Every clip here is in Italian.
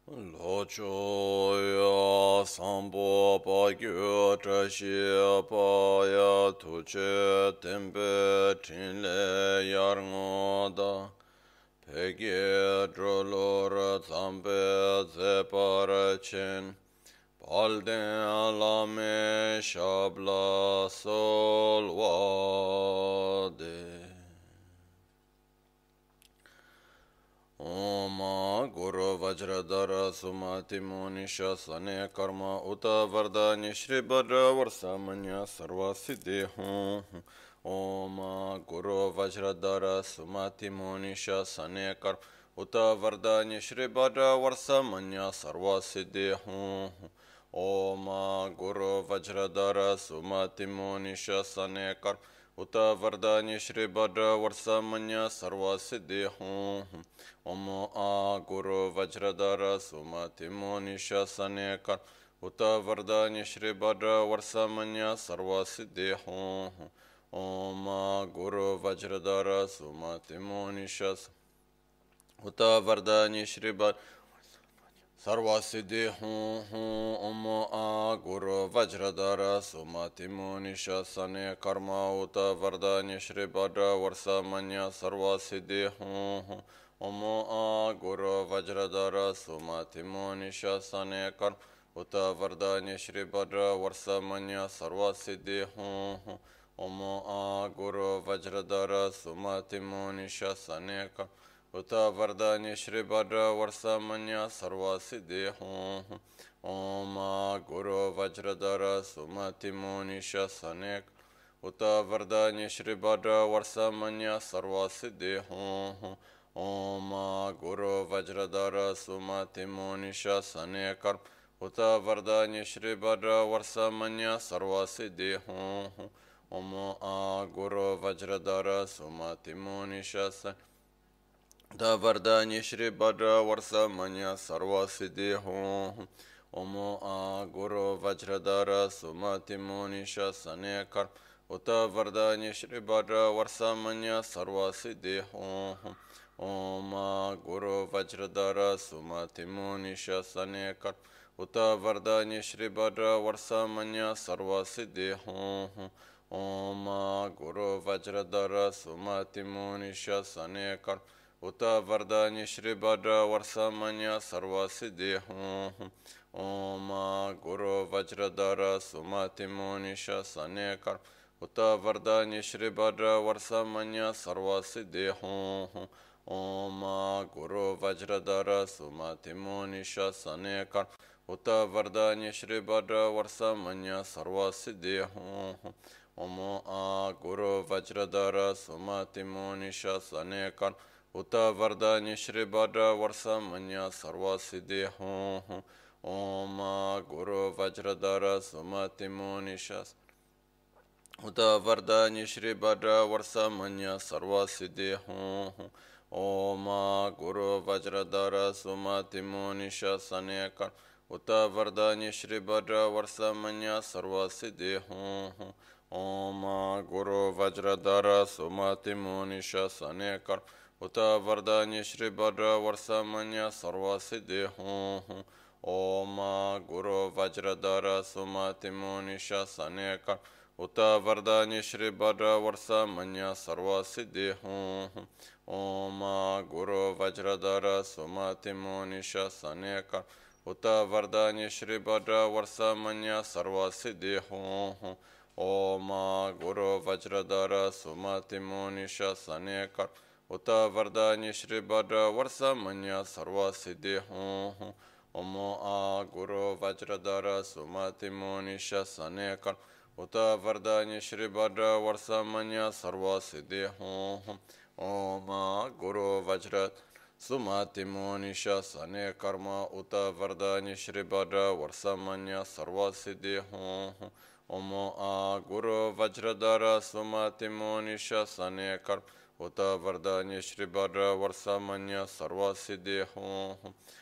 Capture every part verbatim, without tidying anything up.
Locho ya sambo pa gyo trashi pa ya tuche tempe chinle yar ngoda pege drolor zambe zepar chen palden alame shabla solwade Om Guru Vajradhara Sumati Munisha Sane Karma Uta Vardhani Shri Bhadra Varsamanya Sarva Siddhi Hum Om Guru Vajradhara Sumati Munisha Sane Karma Uta Vardhani Shri Bhadra Varsamanya Sarva Siddhi Hum Om Guru Vajradhara Sumati Munisha Sane Karma Uta Vardhani Shri Bhadra Varsamanya Sarva Siddhi Hum Om A Guru Vajradhara Sumati Monisha Sanekar Uta Vardhani Shri Bhadra Varsamanya Sarva Siddhi Hum Om A Guru Vajradhara Sumati Monisha Uta Vardhani Shri Bhadra Sarva Siddhi Hum Hum Om A Guru Vajradhara Sumati Monisha Sane Karma Uta Vardhani Shri Bhadra Varsamanya Sarva Siddhi Hum Hum Om A Guru Vajradhara Sumati Monisha Sane Karma Uta Vardhani Shri Bhadra Varsamanya Sarva Siddhi Hum Hum Om A Guru Vajradhara Sumati Monisha Sane Karma Uta Vardhani Shri Bhadra Varsamanya Sarva Siddhi Hum Om Guru Vajradhara Sumati Monisha Sanek Uta Vardhani Shri Bhadra Varsamanya Sarva Siddhi Hum Om Guru Vajradhara Sumati Monisha Sanekar Uta Vardhani Shri Bhadra Varsamanya Sarva Siddhi Hum Om Guru Vajradhara Sumati Monisha Sanekar Da Vardhani Shri Bhadra Varsamanya Sarva Siddhi Hum Om A Guru Vajradhara Sumati Monisha Sanekar Uta Vardhani Shri Bhadra Varsamanya Sarva Siddhi Hum Om A Guru Vajradhara Sumati Monisha Sanekar Uta Vardhani Shri Bhadra Varsamanya Sarva Siddhi Hum Om A Guru Vajradhara Sumati Monisha Sanekar Uta Vardhani Shri Bhadra Varsamanya Sarva Siddhi Hum Om Guru Vajradhara Sumati Monisha Sanekar Uta Vardhani Shri Bhadra Varsamanya Sarva Siddhi Hum Om Guru Vajradhara Sumati Monisha Sanekar Uta Vardhani Shri Bhadra Varsamanya Sarva Siddhi Hum Om Guru Vajradhara Sumati Monisha Sanekar Uta Vardhani Shri Bhadra Varsamanya Sarva Siddhi Hum Om Guru Vajradhara Sumati Monisha Uta Vardhani Shri Bhadra Varsamanya Sarva Siddhi Hum Om Guru Vajradhara Sumati Monisha Sanekar Uta Vardhani Shri Bhadra Varsamanya Sarva Siddhi Hum Om Guru Vajradhara Sumati Monisha Sanekar Uta Vardhani Shri Bhadra Varsamanya Sarva Siddhi Hum Om Guru Vajradhara Sumati Monisha Sanekar Uta Vardhani Shri Bhadra Varsamanya Sarva Siddhi Hum Om Guru Vajradhara Sumati Monisha Sanekar Uta Vardhani Shri Bhadra Varsamanya Sarva Siddhi Hum Om Guru Vajradhara Sumati Monisha Sanekar Uta Vardhani Shri Bhadra Varsamanya Sarva Siddhi Hum Om Guru Vajradhara Sumati Monisha Sanekar Uta Vardhani Shri Bhadra Varsamanya Sarva Siddhi Hum Om Guru Vajradhara Sumati Monisha Sanekarma Uta Vardhani Shri Bhadra Varsamanya Sarva Siddhi Hum Om Guru Vajradhara Sumati Monisha Sanekar Uta Vardhani Shri Bhadra Varsamanya Sarva Siddhi Hum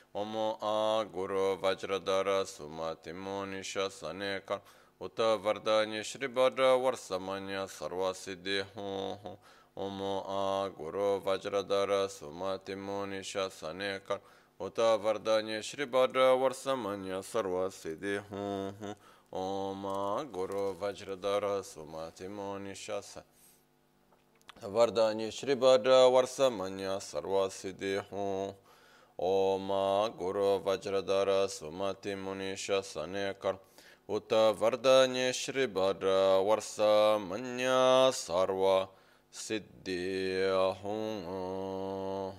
Om Guru Vajradhara Sumati Monisha Sanekar Uta Vardhani Shri Bhadra Varsamanya Sarva Siddhi Hum Om Guru Vajradhara Sumati Monisha Sanekar Uta Vardanya Shri Bhadra Varsamanya Sarva Siddhi Hum Hum Om Guru Vajradhara Sumati Monishasa Vardanya Shri Bhadra Varsamanya Sarva Siddhi Hum Om Guru Vajradhara Sumati Monishasa Nekar Uta Vardanya Shri Bhadra Varsamanya Sarva Siddhi Hum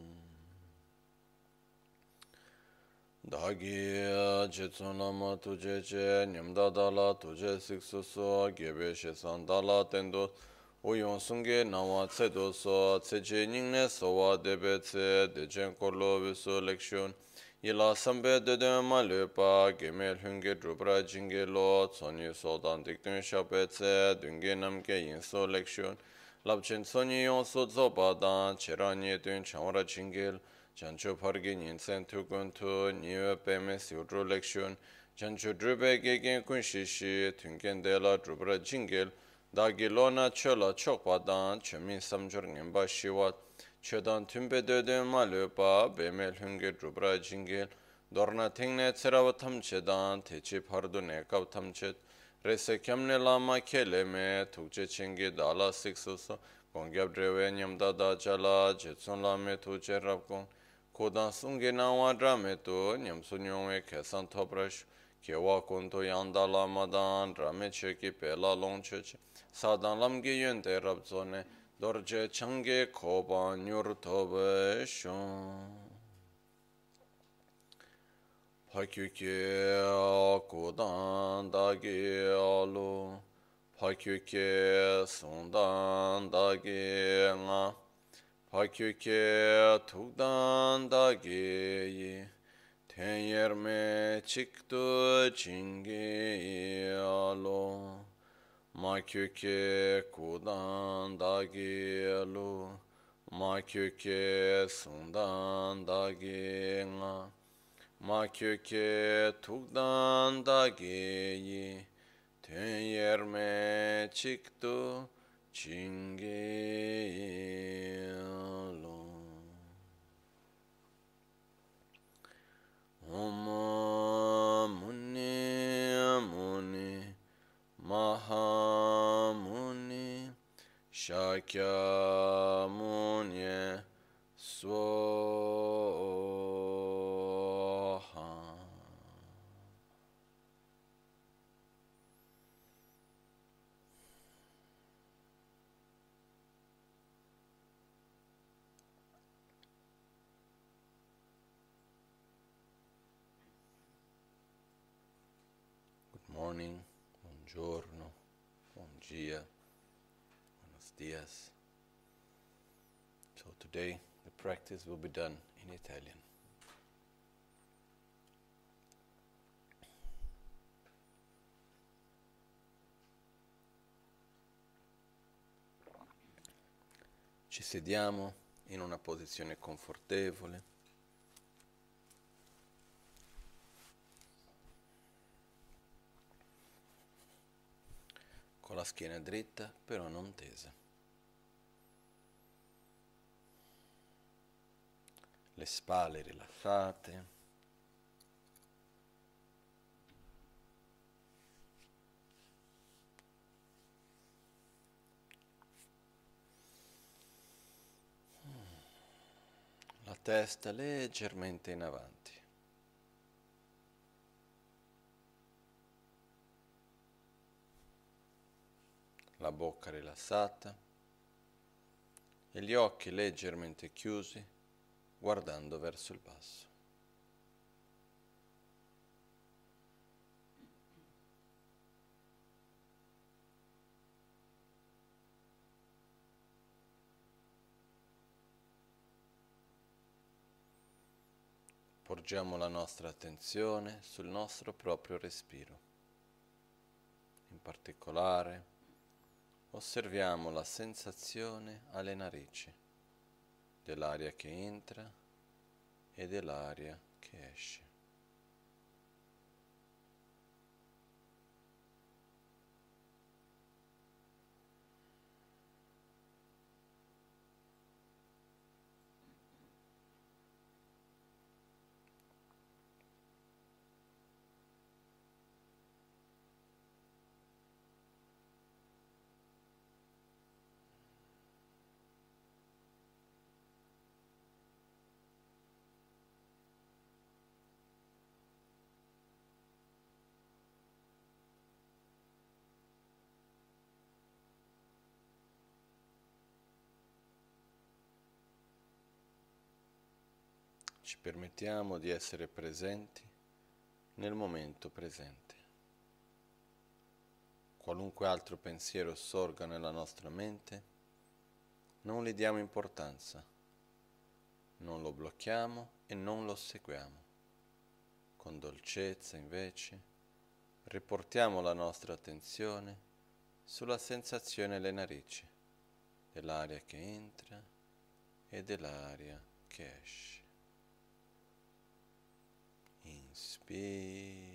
Dagi Jitsunama Tuje Che Nyamda Dala Tuje Siksu So Gebe Shesan Dala Tendo Uyon Sunge Nawa Tsedo So Tseche Ningne Sowa Debe Tse Dejen Korlo Viso Lekshun Yila Sambe Dede Malupa Gemel Hunge Drupra Jinge Lo Tsoni Sodan Diktun Shape Tse Dunge Namke Yinso Lekshun Labchen Tsoni Yon So Zobadan Cheranye Dun Chanwara Jingel Jancho Pargi Ninsen Tukun Tu Niwe Peme Siudru Lekshun Jancho Drube Gegen Kunshishi Tunken Dela Drupra Jingel Dagi Lona Chola Chokpadan Chemin Samjur Ngemba Shiwat Chodan Tumbe Döden Malupa Bemel Hunge Drupra Jingel Dorna Tingne Tserawa Tamchedan Techi Pardu Nekav Tamchet Rese Kyamne Lama Keleme Tukche Chingi Dala Siksuso Gongyab Drewe Nyamda Da Jala Jetsun Lame Tuche Rabkong Kodan Sungi Nawa Drame Tu Nyamsu Nyongwe Kesan Toprash Kewa Kuntu Yanda Lamadan Drame Cheki Pela Longchech Sadan Lamgi Yente Rabzone Dorje Change Koba Nyur Tobe Shon Pakyuke Kodan Dagi Alu Pakyuke Sundan Dagi Nga Pakyuke Tukdan Dagi Tenyerme Chiktu Chingi Alu Makyuke Kodan Dagi Alu Makyuke Sundan Dagi Nga Makyuke Tukdan Dagi Tenyerme Chiktu Chingi Alu Om Muni Muni Mahamuni Shakya Muni Swaha. Good morning, buongiorno, buon dia, buenos dias. So today the practice will be done in Italian. Ci sediamo in una posizione confortevole. Con la schiena dritta, però non tesa. Le spalle rilassate. La testa leggermente in avanti. La bocca rilassata e gli occhi leggermente chiusi, guardando verso il basso. Porgiamo la nostra attenzione sul nostro proprio respiro. In particolare, osserviamo la sensazione alle narici dell'aria che entra e dell'aria che esce. ci permettiamo di essere presenti nel momento presente. Qualunque altro pensiero sorga nella nostra mente, non gli diamo importanza, non lo blocchiamo e non lo seguiamo. Con dolcezza, invece, riportiamo la nostra attenzione sulla sensazione alle narici, dell'aria che entra e dell'aria che esce. Inspiro.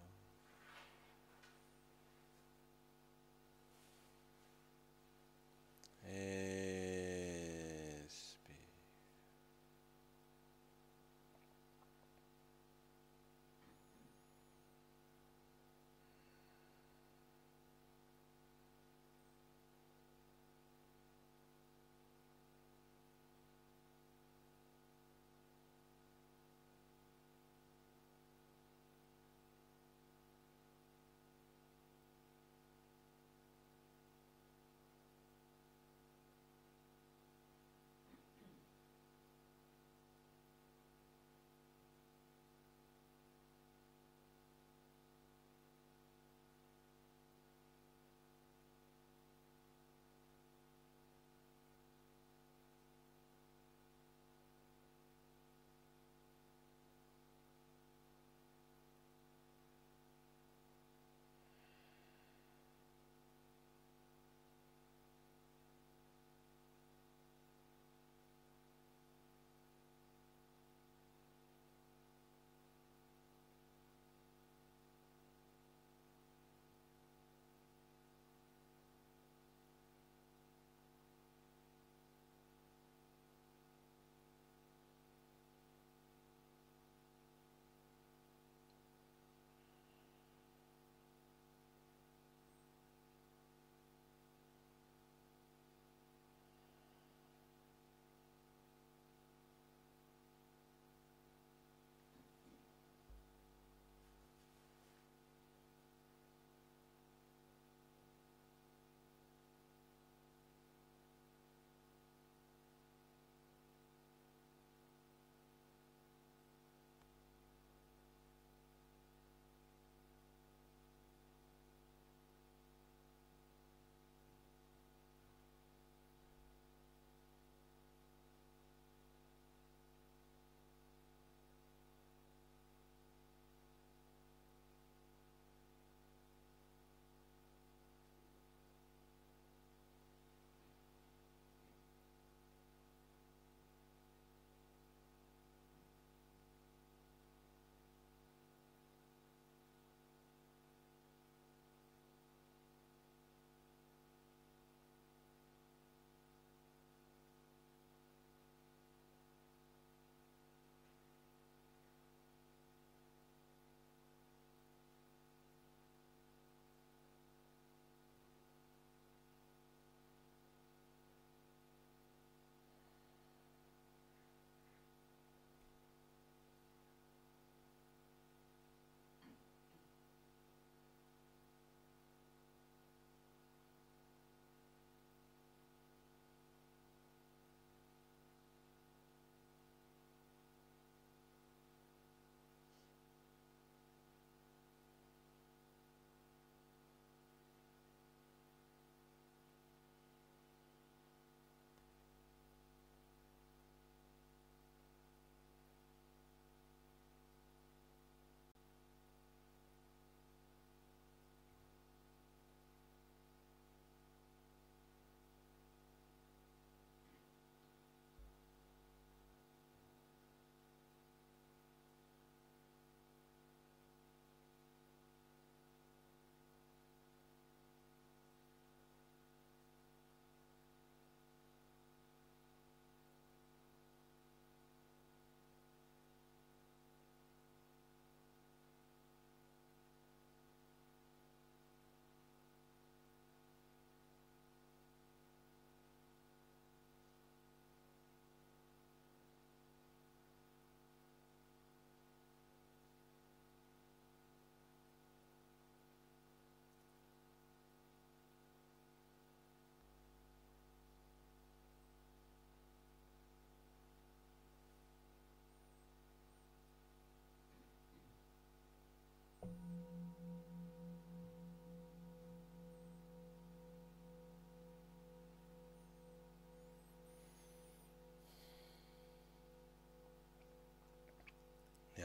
Espiro.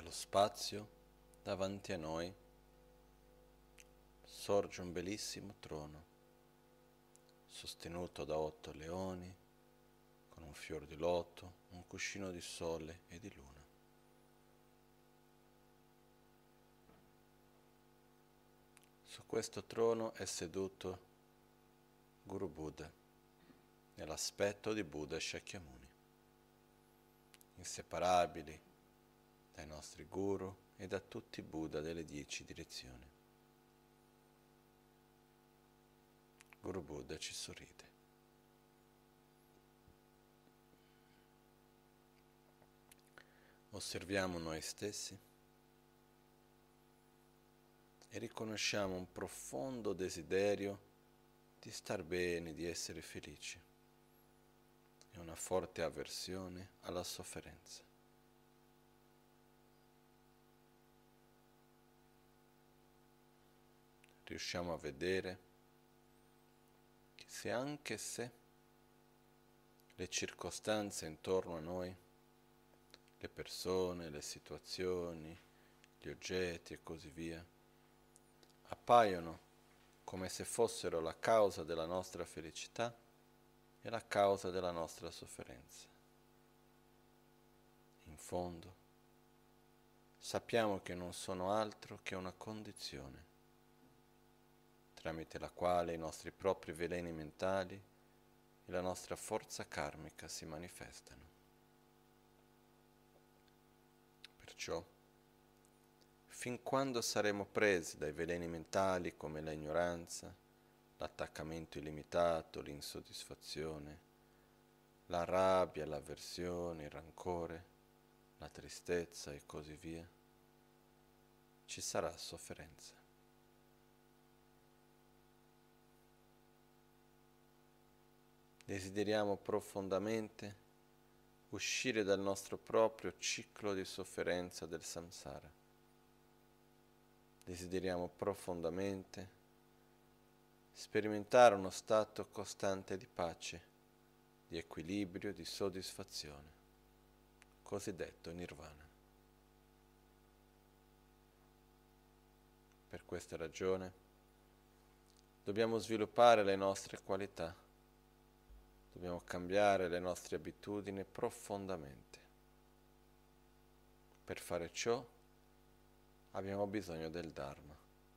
Nello spazio, davanti a noi, sorge un bellissimo trono, sostenuto da otto leoni, con un fior di loto, un cuscino di sole e di luna. Su questo trono è seduto Guru Buddha, nell'aspetto di Buddha Shakyamuni, inseparabili dai nostri guru e da tutti i Buddha delle dieci direzioni. Guru Buddha ci sorride. Osserviamo noi stessi e riconosciamo un profondo desiderio di star bene, di essere felici e una forte avversione alla sofferenza. Riusciamo a vedere che se anche se le circostanze intorno a noi, le persone, le situazioni, gli oggetti e così via, appaiono come se fossero la causa della nostra felicità e la causa della nostra sofferenza. In fondo, sappiamo che non sono altro che una condizione tramite la quale i nostri propri veleni mentali e la nostra forza karmica si manifestano. Perciò, fin quando saremo presi dai veleni mentali come la ignoranza, l'attaccamento illimitato, l'insoddisfazione, la rabbia, l'avversione, il rancore, la tristezza e così via, ci sarà sofferenza. Desideriamo profondamente uscire dal nostro proprio ciclo di sofferenza del samsara. Desideriamo profondamente sperimentare uno stato costante di pace, di equilibrio, di soddisfazione, cosiddetto nirvana. Per questa ragione dobbiamo sviluppare le nostre qualità, dobbiamo cambiare le nostre abitudini profondamente. Per fare ciò abbiamo bisogno del Dharma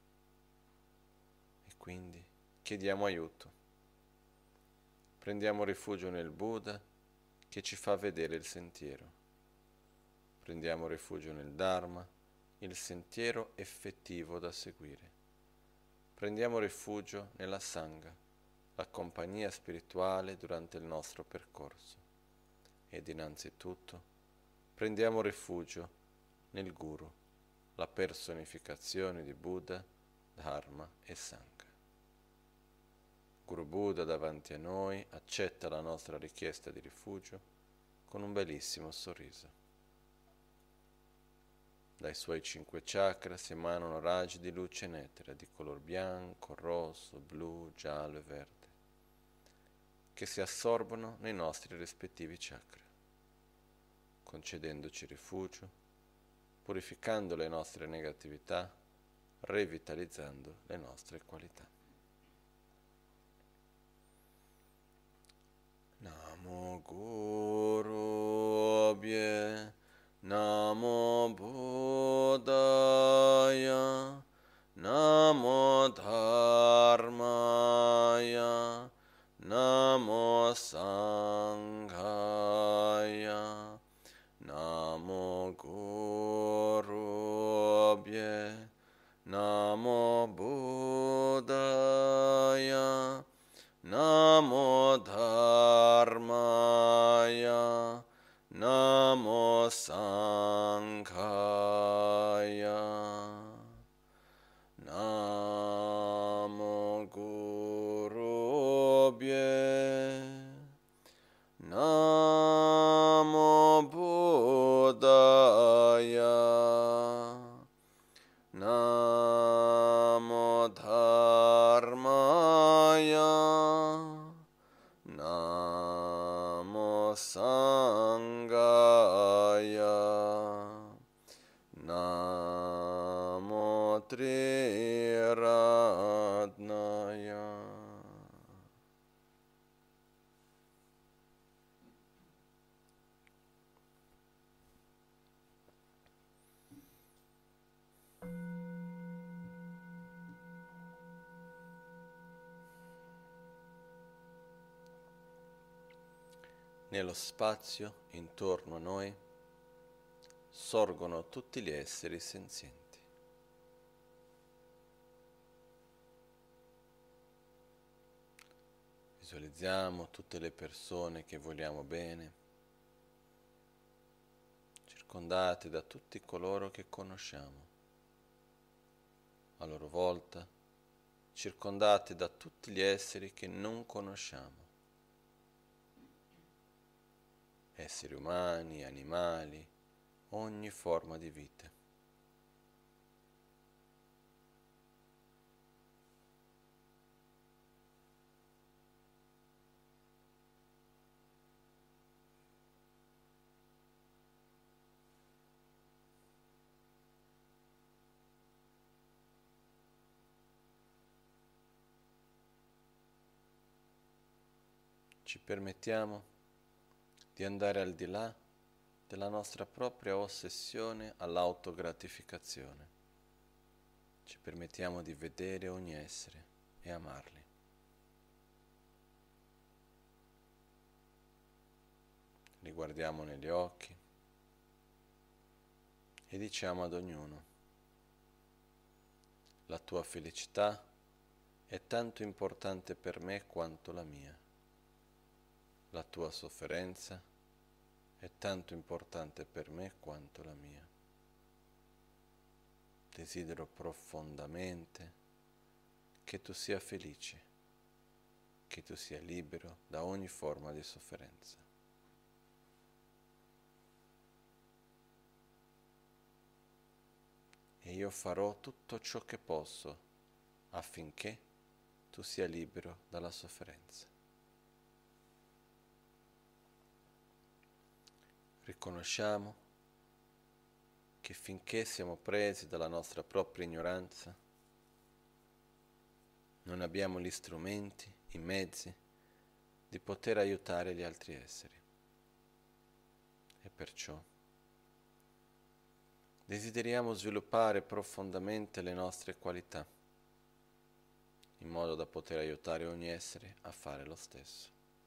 e quindi chiediamo aiuto. Prendiamo rifugio nel Buddha che ci fa vedere il sentiero. Prendiamo rifugio nel Dharma, il sentiero effettivo da seguire. Prendiamo rifugio nella Sangha, la compagnia spirituale durante il nostro percorso. Ed innanzitutto prendiamo rifugio nel Guru, la personificazione di Buddha, Dharma e Sangha. Guru Buddha davanti a noi accetta la nostra richiesta di rifugio con un bellissimo sorriso. Dai suoi cinque chakra si emanano raggi di luce netera di color bianco, rosso, blu, giallo e verde, che si assorbono nei nostri rispettivi chakra, concedendoci rifugio, purificando le nostre negatività, revitalizzando le nostre qualità. Namo Guru Abhye, Namo Buddhaya, Namo Dharmaya, Namo Sanghaya, Namo Guru Abhye, Namo Buddhaya, Namo Dharmaya, Namo Sanghaya, Namo Guru Abhye, Namo Buddhaya, Namo Dharmaya, Namo Sanghaya, Triratnaya. Nello spazio intorno a noi sorgono tutti gli esseri senzienti. Visualizziamo tutte le persone che vogliamo bene, circondate da tutti coloro che conosciamo, a loro volta circondate da tutti gli esseri che non conosciamo. Esseri umani, animali, ogni forma di vita. Ci permettiamo di andare al di là della nostra propria ossessione all'autogratificazione. Ci permettiamo di vedere ogni essere e amarli. Li guardiamo negli occhi e diciamo ad ognuno: la tua felicità è tanto importante per me quanto la mia. La tua sofferenza è tanto importante per me quanto la mia. Desidero profondamente che tu sia felice, che tu sia libero da ogni forma di sofferenza. E io farò tutto ciò che posso affinché tu sia libero dalla sofferenza. Riconosciamo che finché siamo presi dalla nostra propria ignoranza, non abbiamo gli strumenti, i mezzi di poter aiutare gli altri esseri. E perciò desideriamo sviluppare profondamente le nostre qualità, in modo da poter aiutare ogni essere a fare lo stesso.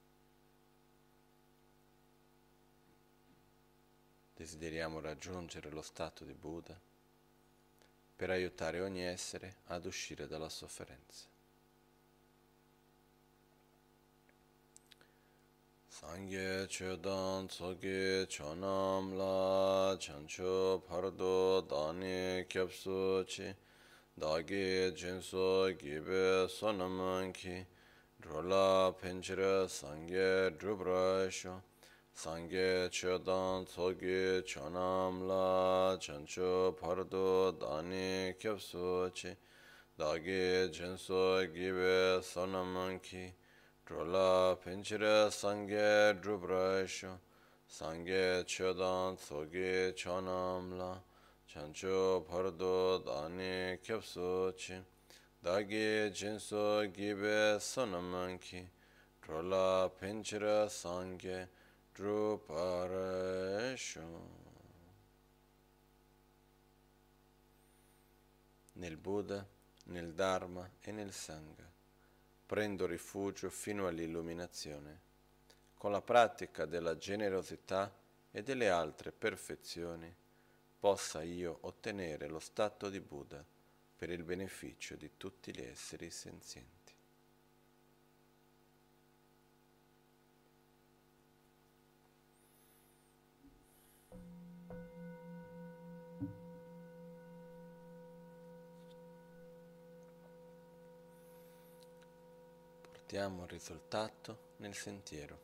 Desideriamo raggiungere lo stato di Buddha per aiutare ogni essere ad uscire dalla sofferenza. Sangye chodan tsoge chonam la chancho pardo dani kyapsu chi dagi jinso gibe sonam ki drola penchira sangye drubrasho Sangye chodan tsoge chonam la chancho pardo dani kyapsu chi dagi jinso gibe sonam ki drola penchira sangye drubrasho sangye chodan tsoge chonam la chancho pardo dani kyapsu chi dagi jinso gibe sonam ki drola penchira sangye druparasho. Nel Buddha, nel Dharma e nel Sangha prendo rifugio fino all'illuminazione. Con la pratica della generosità e delle altre perfezioni possa io ottenere lo stato di Buddha per il beneficio di tutti gli esseri senzienti. Portiamo il risultato nel sentiero.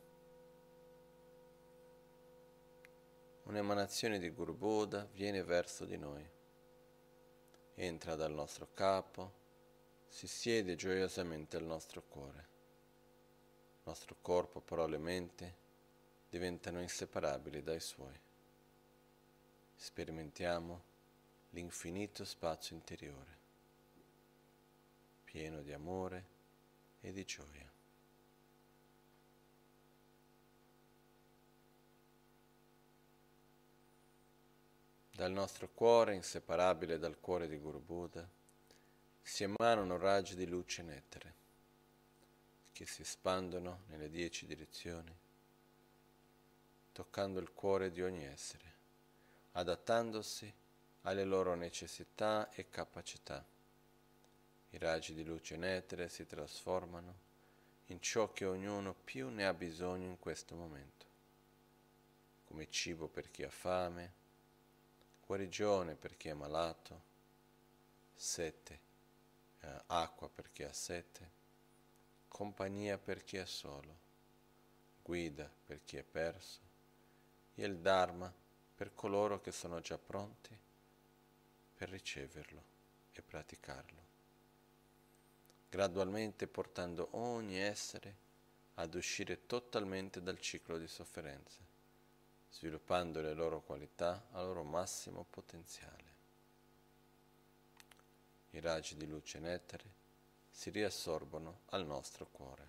Un'emanazione di Guru Buddha viene verso di noi. Entra dal nostro capo, si siede gioiosamente al nostro cuore. Il nostro corpo, parole e mente diventano inseparabili dai suoi. Sperimentiamo l'infinito spazio interiore. pieno di amore e di gioia. Dal nostro cuore, inseparabile dal cuore di Guru Buddha, si emanano raggi di luce e nettare, che si espandono nelle dieci direzioni, toccando il cuore di ogni essere, adattandosi alle loro necessità e capacità. I raggi di luce e nettare si trasformano in ciò che ognuno più ne ha bisogno in questo momento, come cibo per chi ha fame, guarigione per chi è malato, sete, eh, acqua per chi ha sete, compagnia per chi è solo, guida per chi è perso, e il Dharma per coloro che sono già pronti per riceverlo e praticarlo, gradualmente portando ogni essere ad uscire totalmente dal ciclo di sofferenze, sviluppando le loro qualità al loro massimo potenziale. I raggi di luce e nettare si riassorbono al nostro cuore.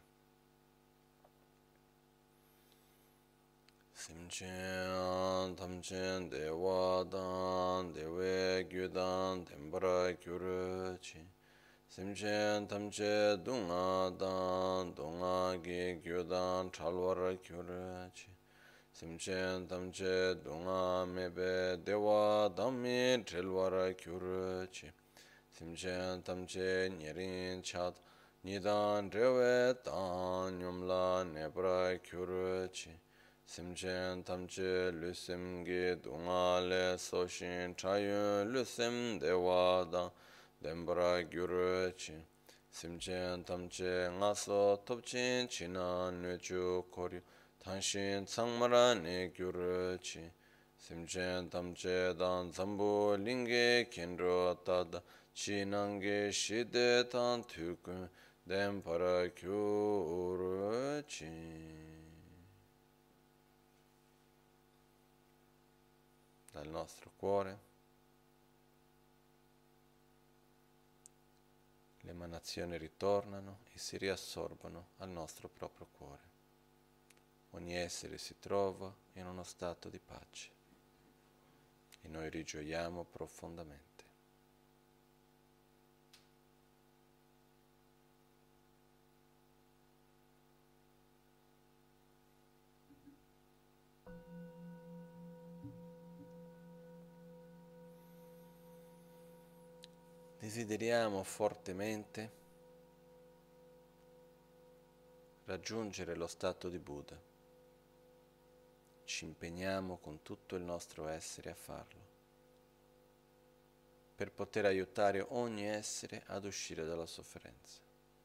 Simchen tamchen dewa dan dewe gyudan dembra gyurchi. Simchen tamche dunga dan dunga ge gyudan chalwar gyurchi. Simchen tamche dunga mebe dewa dhammi trilwar gyurchi. Simchen tamche nyerin chat nidan drewe dan nyumla nebra gyurchi. Simchen tamche lusim ge dunga le soshin chayun lusim dewa dan dembra gyurchi. Simchen tamche ngaso topchin china nuchu koryu tanshin tsangmara ne gyurchi. Simchen tamche dan zambu linge kenro tada chinange shide tan tukun dembra gyurchi. Dal nostro cuore le emanazioni ritornano e si riassorbono al nostro proprio cuore. Ogni essere si trova in uno stato di pace e noi rigioiamo profondamente. Desideriamo fortemente raggiungere lo stato di Buddha. Ci impegniamo con tutto il nostro essere a farlo, per poter aiutare ogni essere ad uscire dalla sofferenza.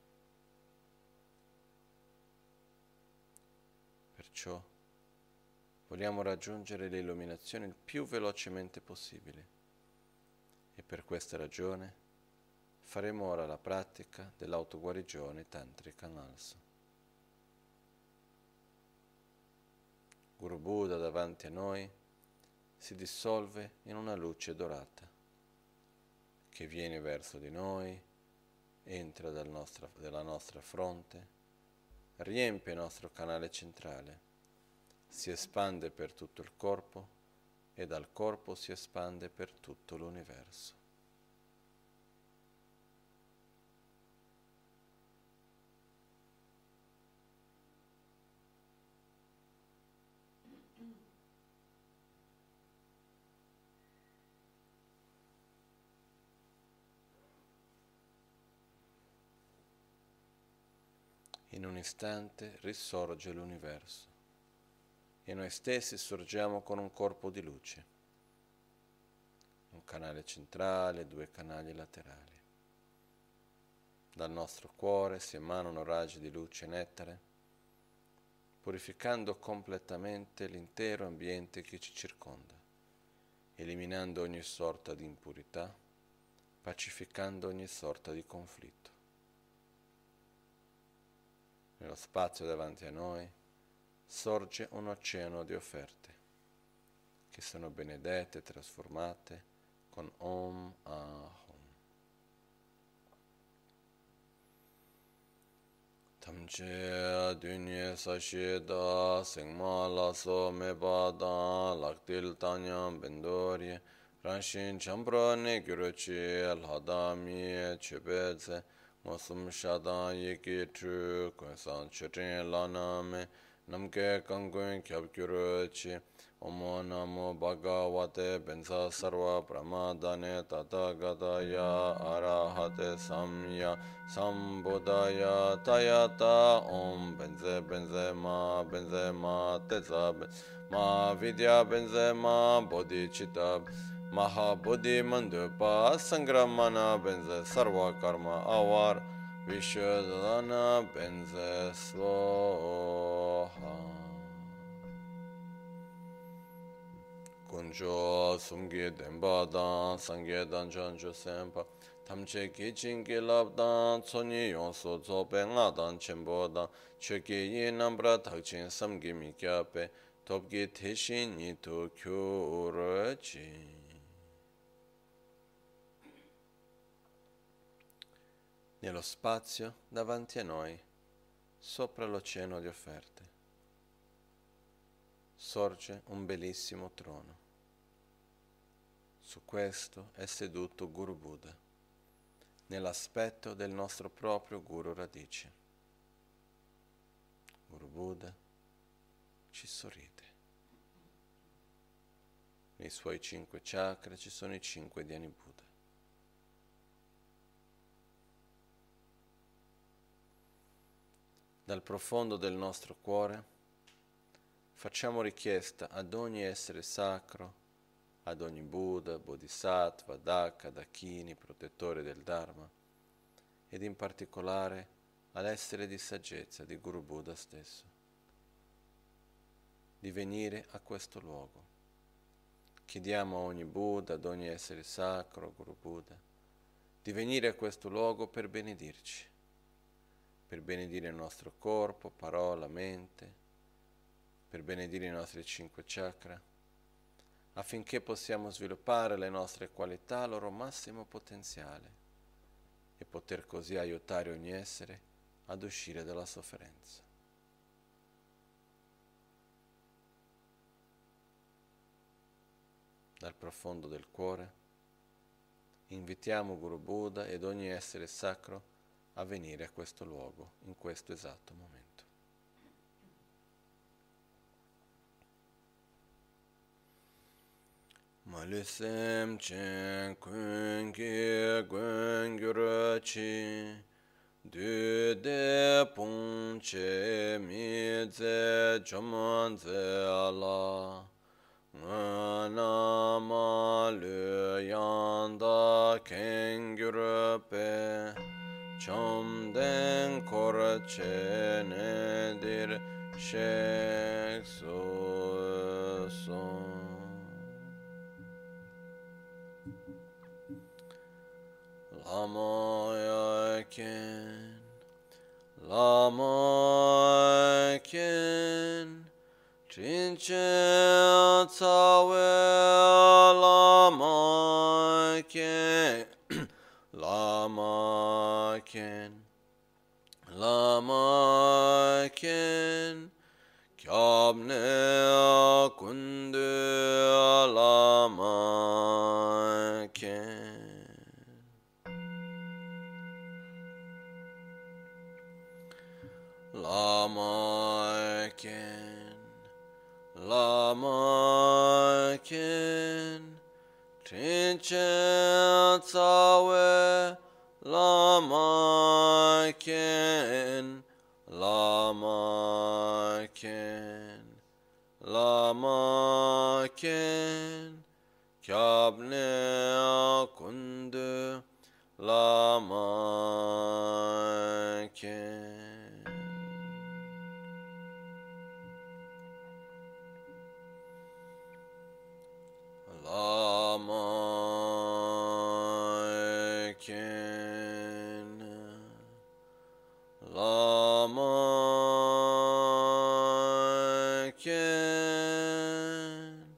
Perciò vogliamo raggiungere l'illuminazione il più velocemente possibile e per questa ragione faremo ora la pratica dell'autoguarigione tantrica Nalsa. Guru Buddha davanti a noi si dissolve in una luce dorata che viene verso di noi, entra dal nostra, dalla nostra fronte, riempie il nostro canale centrale, si espande per tutto il corpo e dal corpo si espande per tutto l'universo. In un istante risorge l'universo e noi stessi sorgiamo con un corpo di luce, un canale centrale, due canali laterali. Dal nostro cuore si emanano raggi di luce e nettare, purificando completamente l'intero ambiente che ci circonda, eliminando ogni sorta di impurità, pacificando ogni sorta di conflitto. Nello spazio davanti a noi sorge un oceano di offerte che sono benedette e trasformate con Om Ahom. Che dunye sashi da sengma la so me ba da laktil tanyam bendori ranshin chambra ne gyurochi lhada mi chebeze mosum shada yeki tru kunsan chutrin lana me namke kangun kyab gyurochi Omo namo bhagavate benza sarva pramadane tatagataya arahate samya sambuddhaya tayata om benze benze ma benze ma teza ma vidya benze ma bodhicitta maha bodhi mandupa sangramana benze sarva karma avar vishodhana benze sloha Kunjo sumgi denpa dan sangye dan chancho senpa tamche ki chingi lab dan tsoni yonso zope nga dan chenpo dan choki yi nambra takchin samgi mi kyape topki teshin nitu kyurachi. Nello spazio davanti a noi, sopra l'oceano di offerte, sorge un bellissimo trono. Su questo è seduto Guru Buddha, nell'aspetto del nostro proprio Guru Radice. Guru Buddha ci sorride. Nei suoi cinque chakra ci sono i cinque Dhyani Buddha. Dal profondo del nostro cuore facciamo richiesta ad ogni essere sacro, ad ogni Buddha, Bodhisattva, Daka, Dakini, protettore del Dharma, ed in particolare all'essere di saggezza di Guru Buddha stesso, di venire a questo luogo. Chiediamo a ogni Buddha, ad ogni essere sacro, Guru Buddha, di venire a questo luogo per benedirci, per benedire il nostro corpo, parola, mente, per benedire i nostri cinque chakra, affinché possiamo sviluppare le nostre qualità al loro massimo potenziale e poter così aiutare ogni essere ad uscire dalla sofferenza. Dal profondo del cuore invitiamo Guru Buddha ed ogni essere sacro a venire a questo luogo in questo esatto momento. Malisem chen kun ki gun gyur chi du de pong che mi ze choman ze ala na ma lu yan da ken gyur pe chom den kor che ne dir shek so so Lama Yakin, Lama Yakin, Chinchen Tsawe, Lama Yakin, Lama Yakin, Lama Yakin, Kyabne Kundu, Lama Yakin. Lama Ken, Lama Ken, Trinchen Tsawe, Lama Ken, Lama Ken, Lama Ken, Kyabne Kundu, Lama Ken. Lama Ken, Lama Ken,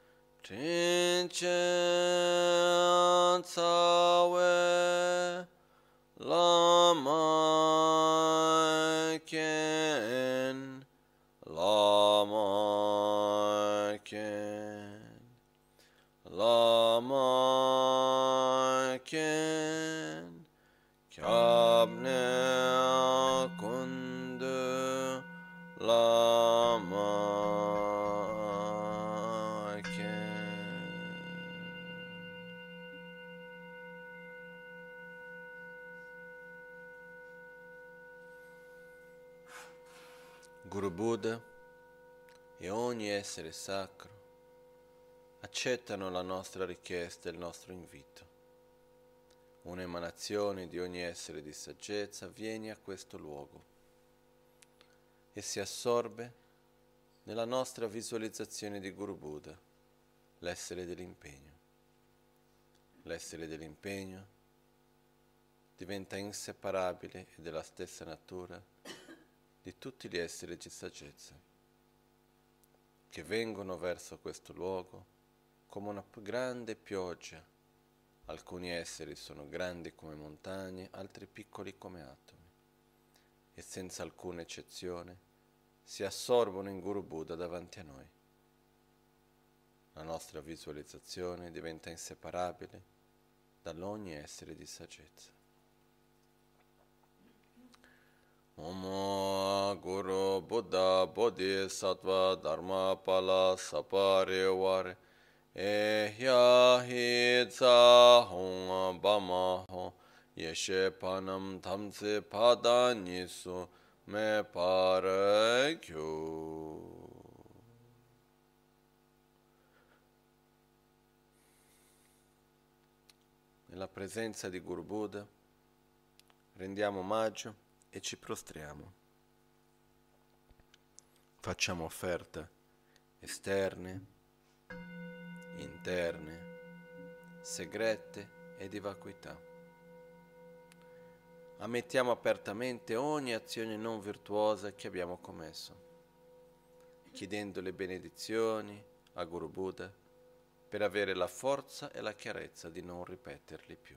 Trinchen Tsawe, Lama Ken. ken kyabne kundu lama ken. Guru Buddha e ogni essere sacro accettano la nostra richiesta e il nostro invito. Un'emanazione di ogni essere di saggezza viene a questo luogo e si assorbe nella nostra visualizzazione di Guru Buddha, l'essere dell'impegno. L'essere dell'impegno diventa inseparabile e della stessa natura di tutti gli esseri di saggezza, che vengono verso questo luogo come una grande pioggia. Alcuni esseri sono grandi come montagne, altri piccoli come atomi, e senza alcuna eccezione si assorbono in Guru Buddha davanti a noi. La nostra visualizzazione diventa inseparabile dall'ogni essere di saggezza. Om Guru Buddha Bodhisattva Dharma Pala Sapareware Ehya Hi Tsa Hong Bama Ho Yeshe Panam Tamse Pada Nisu Me Pare Kyu. Nella presenza di Guru Buddha rendiamo omaggio e ci prostriamo. Facciamo offerte esterne, interne, segrete e di vacuità. Ammettiamo apertamente ogni azione non virtuosa che abbiamo commesso, chiedendo le benedizioni a Guru Buddha per avere la forza e la chiarezza di non ripeterli più.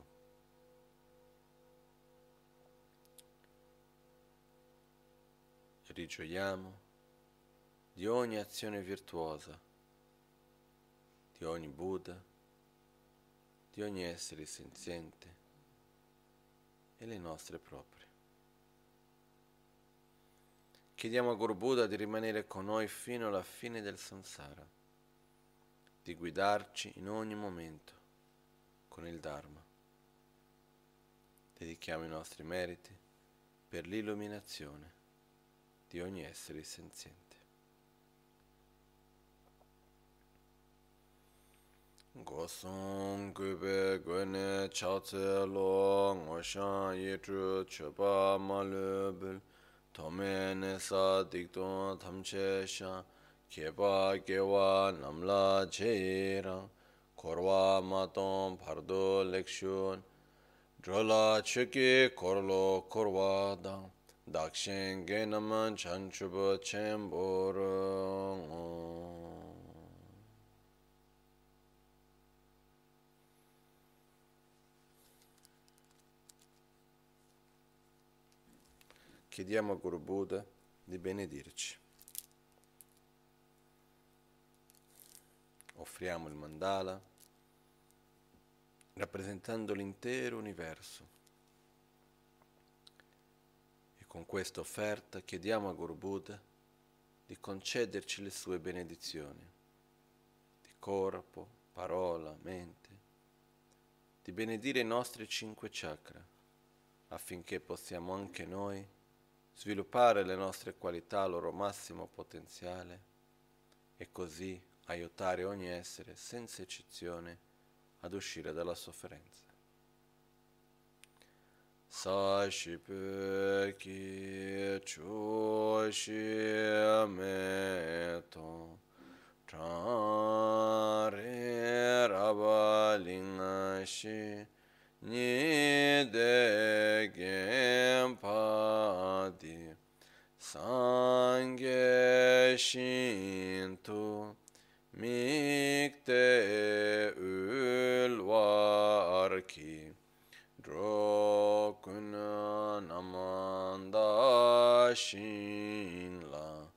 Rigioiamo di ogni azione virtuosa, di ogni Buddha, di ogni essere senziente e le nostre proprie. Chiediamo a Guru Buddha di rimanere con noi fino alla fine del samsara, di guidarci in ogni momento con il Dharma. Dedichiamo i nostri meriti per l'illuminazione di ogni essere senziente. Gosong gube gwene chaotse lo ngoshan yitru choba malubul tome nesa dikton tamche shan keba gewa namla cheirang korwa maton pardo lekshun drola chuki korlo korwa dang dakshen genaman chanchubo chemboro. Chiediamo a Guru Buddha di benedirci. Offriamo il mandala rappresentando l'intero universo. E con questa offerta chiediamo a Guru Buddha di concederci le sue benedizioni di corpo, parola, mente, di benedire i nostri cinque chakra affinché possiamo anche noi sviluppare le nostre qualità al loro massimo potenziale e così aiutare ogni essere senza eccezione ad uscire dalla sofferenza. Sashipe ki chushi meto trare rabalingashi nide gempadi sangye shintu mikte ulwarki drokuna namanda shinla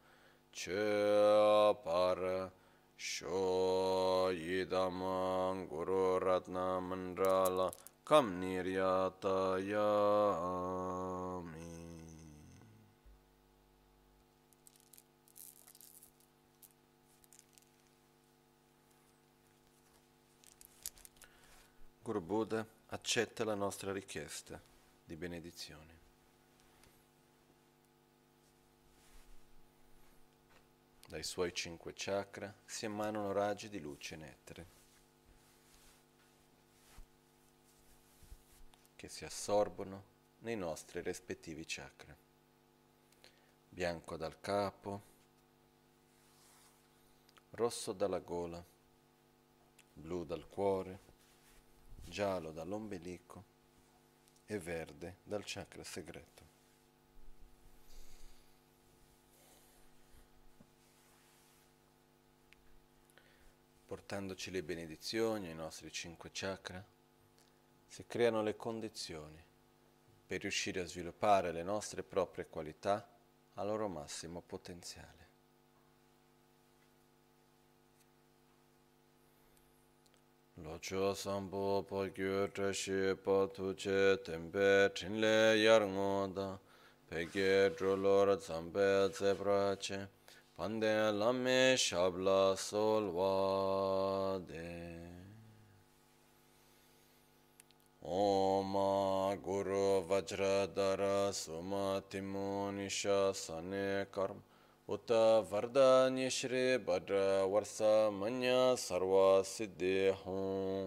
chepara sho yidamang guru ratna mandrala kam niryatayami. Guru Buddha accetta la nostra richiesta di benedizione. Dai suoi cinque chakra si emanano raggi di luce e nettare che si assorbono nei nostri rispettivi chakra. Bianco dal capo, rosso dalla gola, blu dal cuore, giallo dall'ombelico e verde dal chakra segreto. Portandoci le benedizioni ai nostri cinque chakra, si creano le condizioni per riuscire a sviluppare le nostre proprie qualità al loro massimo potenziale. Locho sambo po gyu trashi po tuche tempe trinle yarngoda peke drolor zambe zebrache pande lame shabla solvade. Oma Guru Vajradhara Suma Timunisha Sane Karma Uta Vardanya Shri Bhadra Varsa Manya Sarva Siddhi Hum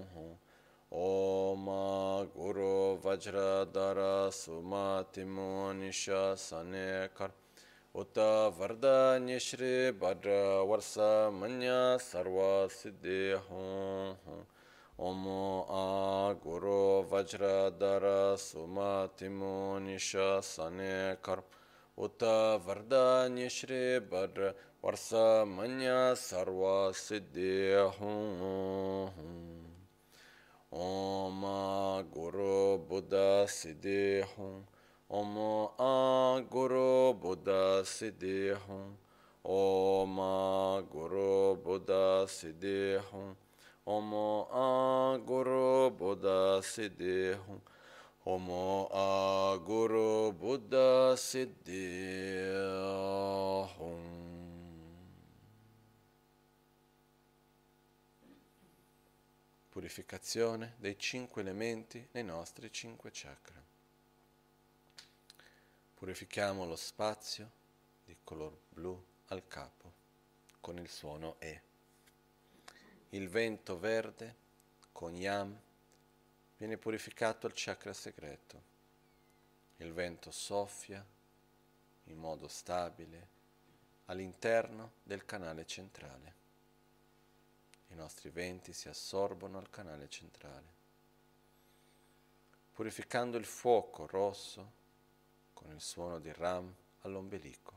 Oma Guru Vajradhara Suma Timunisha Sane Karma Uta Vardanya Shri Bhadra Varsa Manya Sarva Siddhi Hum Omo a Guru Vajradhara Sumatimo Nisha Sane Karm Uta Vardanya Shri Bhadra Varsa Manya Sarva Siddhi Hum Om a Guru Buddha Siddhi Hum Om a Guru Buddha Siddhi Hum Om a Guru Buddha Siddhi Hum Omo a Guru Buddha Siddhi Hum Omo a Guru Buddha Siddhi Hum. Purificazione dei cinque elementi nei nostri cinque chakra. Purifichiamo lo spazio di color blu al capo con il suono E. Il vento verde con Yam viene purificato al chakra segreto. Il vento soffia in modo stabile all'interno del canale centrale. I nostri venti si assorbono al canale centrale, purificando il fuoco rosso con il suono di Ram all'ombelico.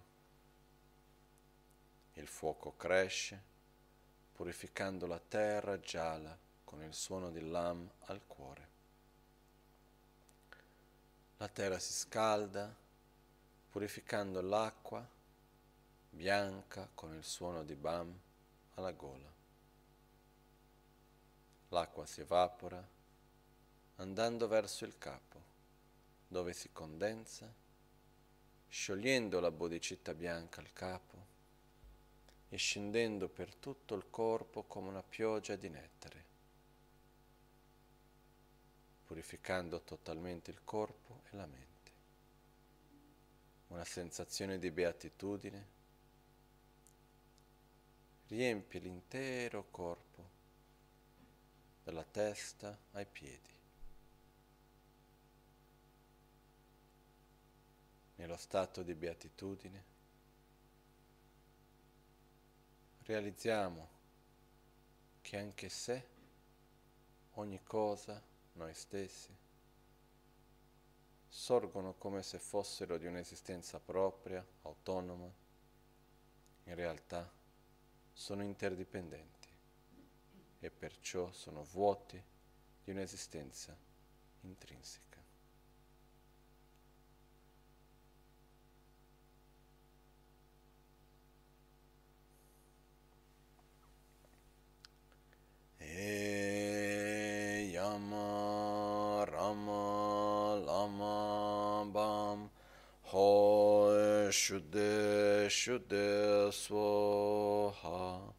Il fuoco cresce, purificando la terra gialla con il suono di Lam al cuore. La terra si scalda, purificando l'acqua bianca con il suono di Bam alla gola. L'acqua si evapora, andando verso il capo, dove si condensa, sciogliendo la bodhicitta bianca al capo e scendendo per tutto il corpo come una pioggia di nettare, purificando totalmente il corpo e la mente. Una sensazione di beatitudine riempie l'intero corpo, dalla testa ai piedi. Nello stato di beatitudine realizziamo che anche se, ogni cosa, noi stessi, sorgono come se fossero di un'esistenza propria, autonoma, in realtà sono interdipendenti e perciò sono vuoti di un'esistenza intrinseca. E yama Shuddhe Shuddhe Swaha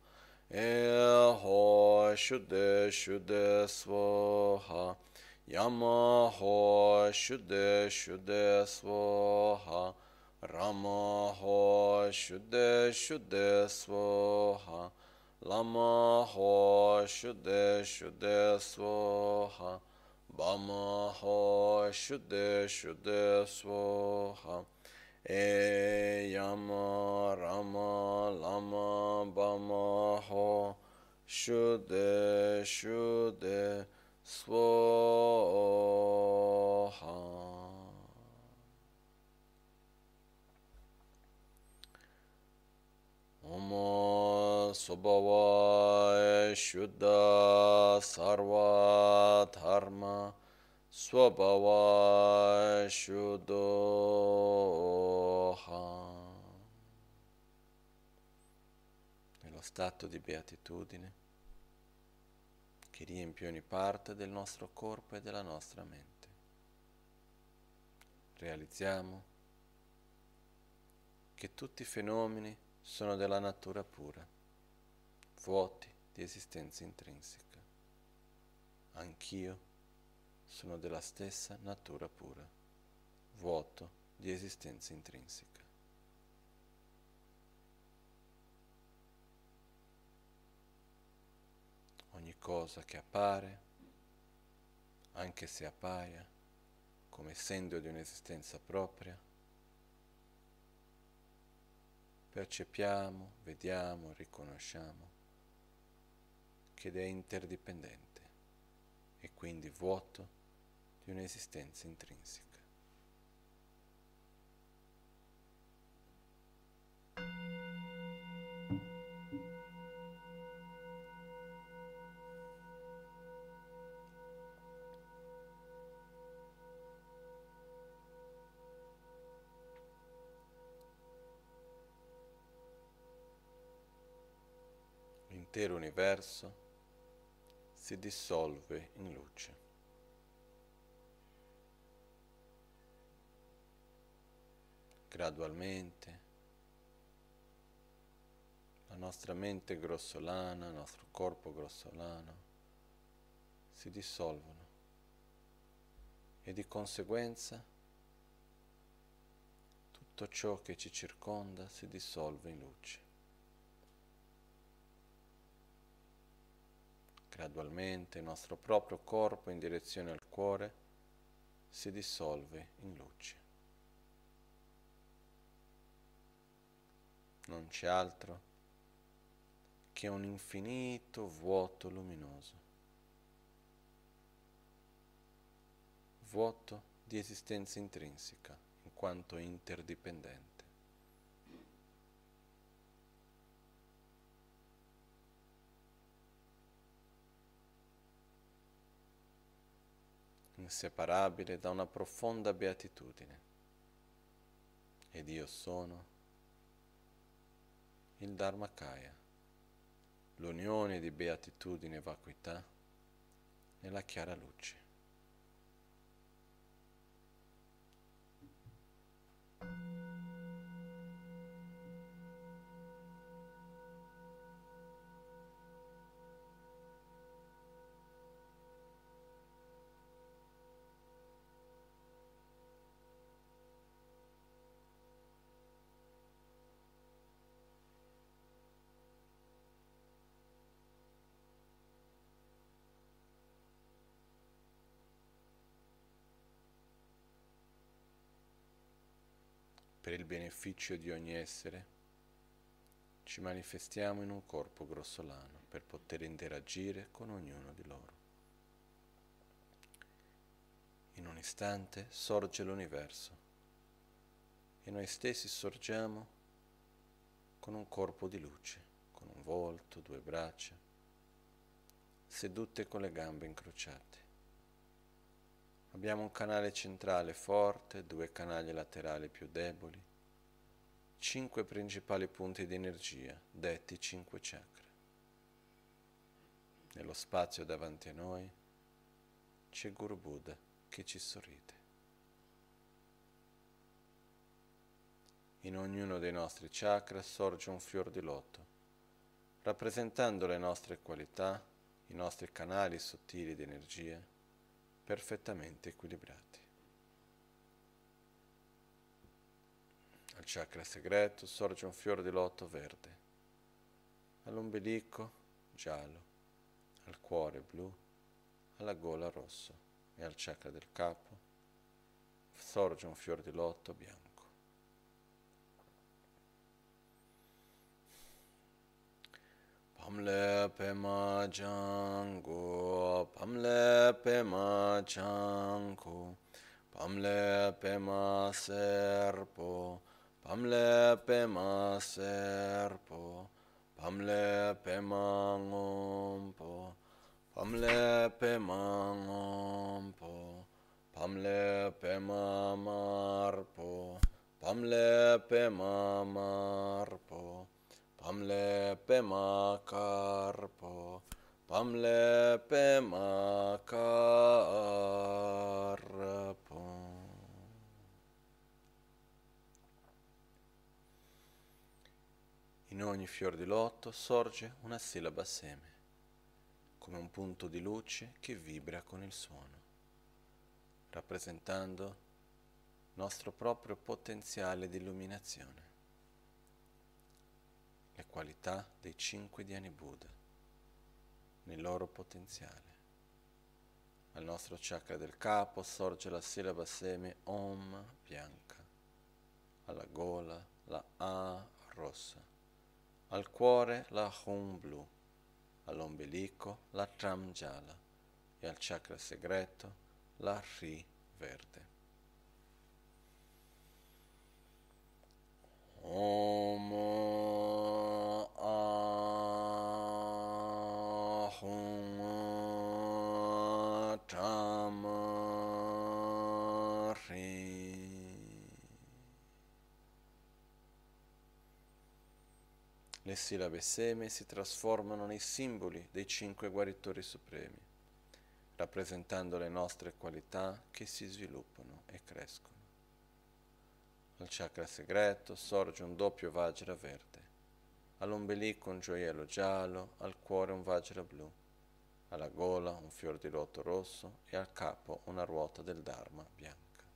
Eho Shuddhe Shuddhe Swaha Yamaho Shuddhe Shuddhe Swaha Ramaho Shuddhe Shuddhe Swaha Lamaho Shuddhe Shuddhe Swaha Bamaho Shuddhe Shuddhe Swaha E Yama Rama Lama Bama Ho Shuddhe Shuddhe Swaha. Om Swabhava Shuddha Sarva Dharma Swabhava Shuddha. Nello stato di beatitudine che riempie ogni parte del nostro corpo e della nostra mente, realizziamo che tutti i fenomeni sono della natura pura, vuoti di esistenza intrinseca. Anch'io sono della stessa natura pura, vuoto di esistenza intrinseca. Ogni cosa che appare, anche se appaia, come essendo di un'esistenza propria, percepiamo, vediamo, riconosciamo che è interdipendente e quindi vuoto di un'esistenza intrinseca. L'intero universo si dissolve in luce. Gradualmente la nostra mente grossolana, il nostro corpo grossolano si dissolvono e di conseguenza tutto ciò che ci circonda si dissolve in luce. Gradualmente il nostro proprio corpo in direzione al cuore si dissolve in luce. Non c'è altro che un infinito vuoto luminoso, vuoto di esistenza intrinseca, in quanto interdipendente. Inseparabile da una profonda beatitudine. Ed io sono il Dharmakaya, l'unione di beatitudine e vacuità nella chiara luce. Per il beneficio di ogni essere, ci manifestiamo in un corpo grossolano per poter interagire con ognuno di loro. In un istante sorge l'universo e noi stessi sorgiamo con un corpo di luce, con un volto, due braccia, sedute con le gambe incrociate. Abbiamo un canale centrale forte, due canali laterali più deboli, cinque principali punti di energia, detti cinque chakra. Nello spazio davanti a noi c'è Guru Buddha che ci sorride. In ognuno dei nostri chakra sorge un fior di loto, rappresentando le nostre qualità, i nostri canali sottili di energia, perfettamente equilibrati. Al chakra segreto sorge un fior di loto verde, all'ombelico giallo, al cuore blu, alla gola rosso e al chakra del capo sorge un fior di loto bianco. Pamle pema jango, pamle pema jango, pamle pema serpo, pamle pema serpo, pamle pema ngompo, pamle pema ngompo, pamle pema marpo, pamle pema marpo, pamle pema carpo, pamle pema carpo. In ogni fior di loto sorge una sillaba seme, come un punto di luce che vibra con il suono, rappresentando il nostro proprio potenziale di illuminazione, le qualità dei cinque Dhyani Buddha, nel loro potenziale. Al nostro chakra del capo sorge la sillaba seme Om bianca, alla gola la A rossa, al cuore la Hum blu, all'ombelico la Tram gialla e al chakra segreto la Ri verde. Om Ahum Tram Ri. Le sillabe seme si trasformano nei simboli dei cinque guaritori supremi, rappresentando le nostre qualità che si sviluppano e crescono. Al chakra segreto sorge un doppio Vajra verde, all'ombelico un gioiello giallo, al cuore un Vajra blu, alla gola un fior di loto rosso e al capo una ruota del Dharma bianca.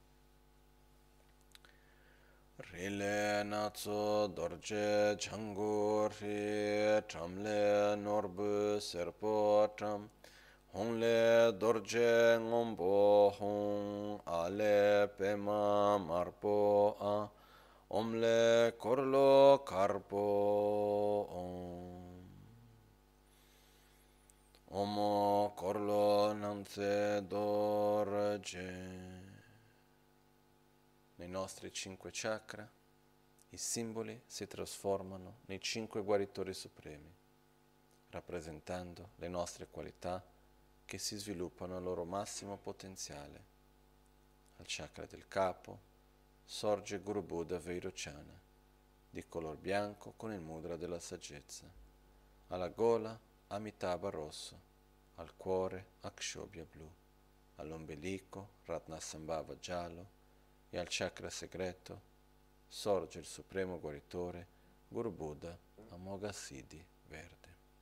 Rile natso dorje changur ri tramle norbu serpo tram, Hongle dorje ngombo hong, ale pema marpo a, omle korlo karpo om. Omo korlo nanze dorje. Nei nostri cinque chakra, i simboli si trasformano nei cinque guaritori supremi, rappresentando le nostre qualità che si sviluppano al loro massimo potenziale. Al chakra del capo sorge Guru Buddha Vairochana, di color bianco con il mudra della saggezza. Alla gola Amitabha rosso, al cuore Akshobhya blu, all'ombelico Ratnasambhava giallo e al chakra segreto sorge il supremo guaritore Guru Buddha Amoghasiddhi verde.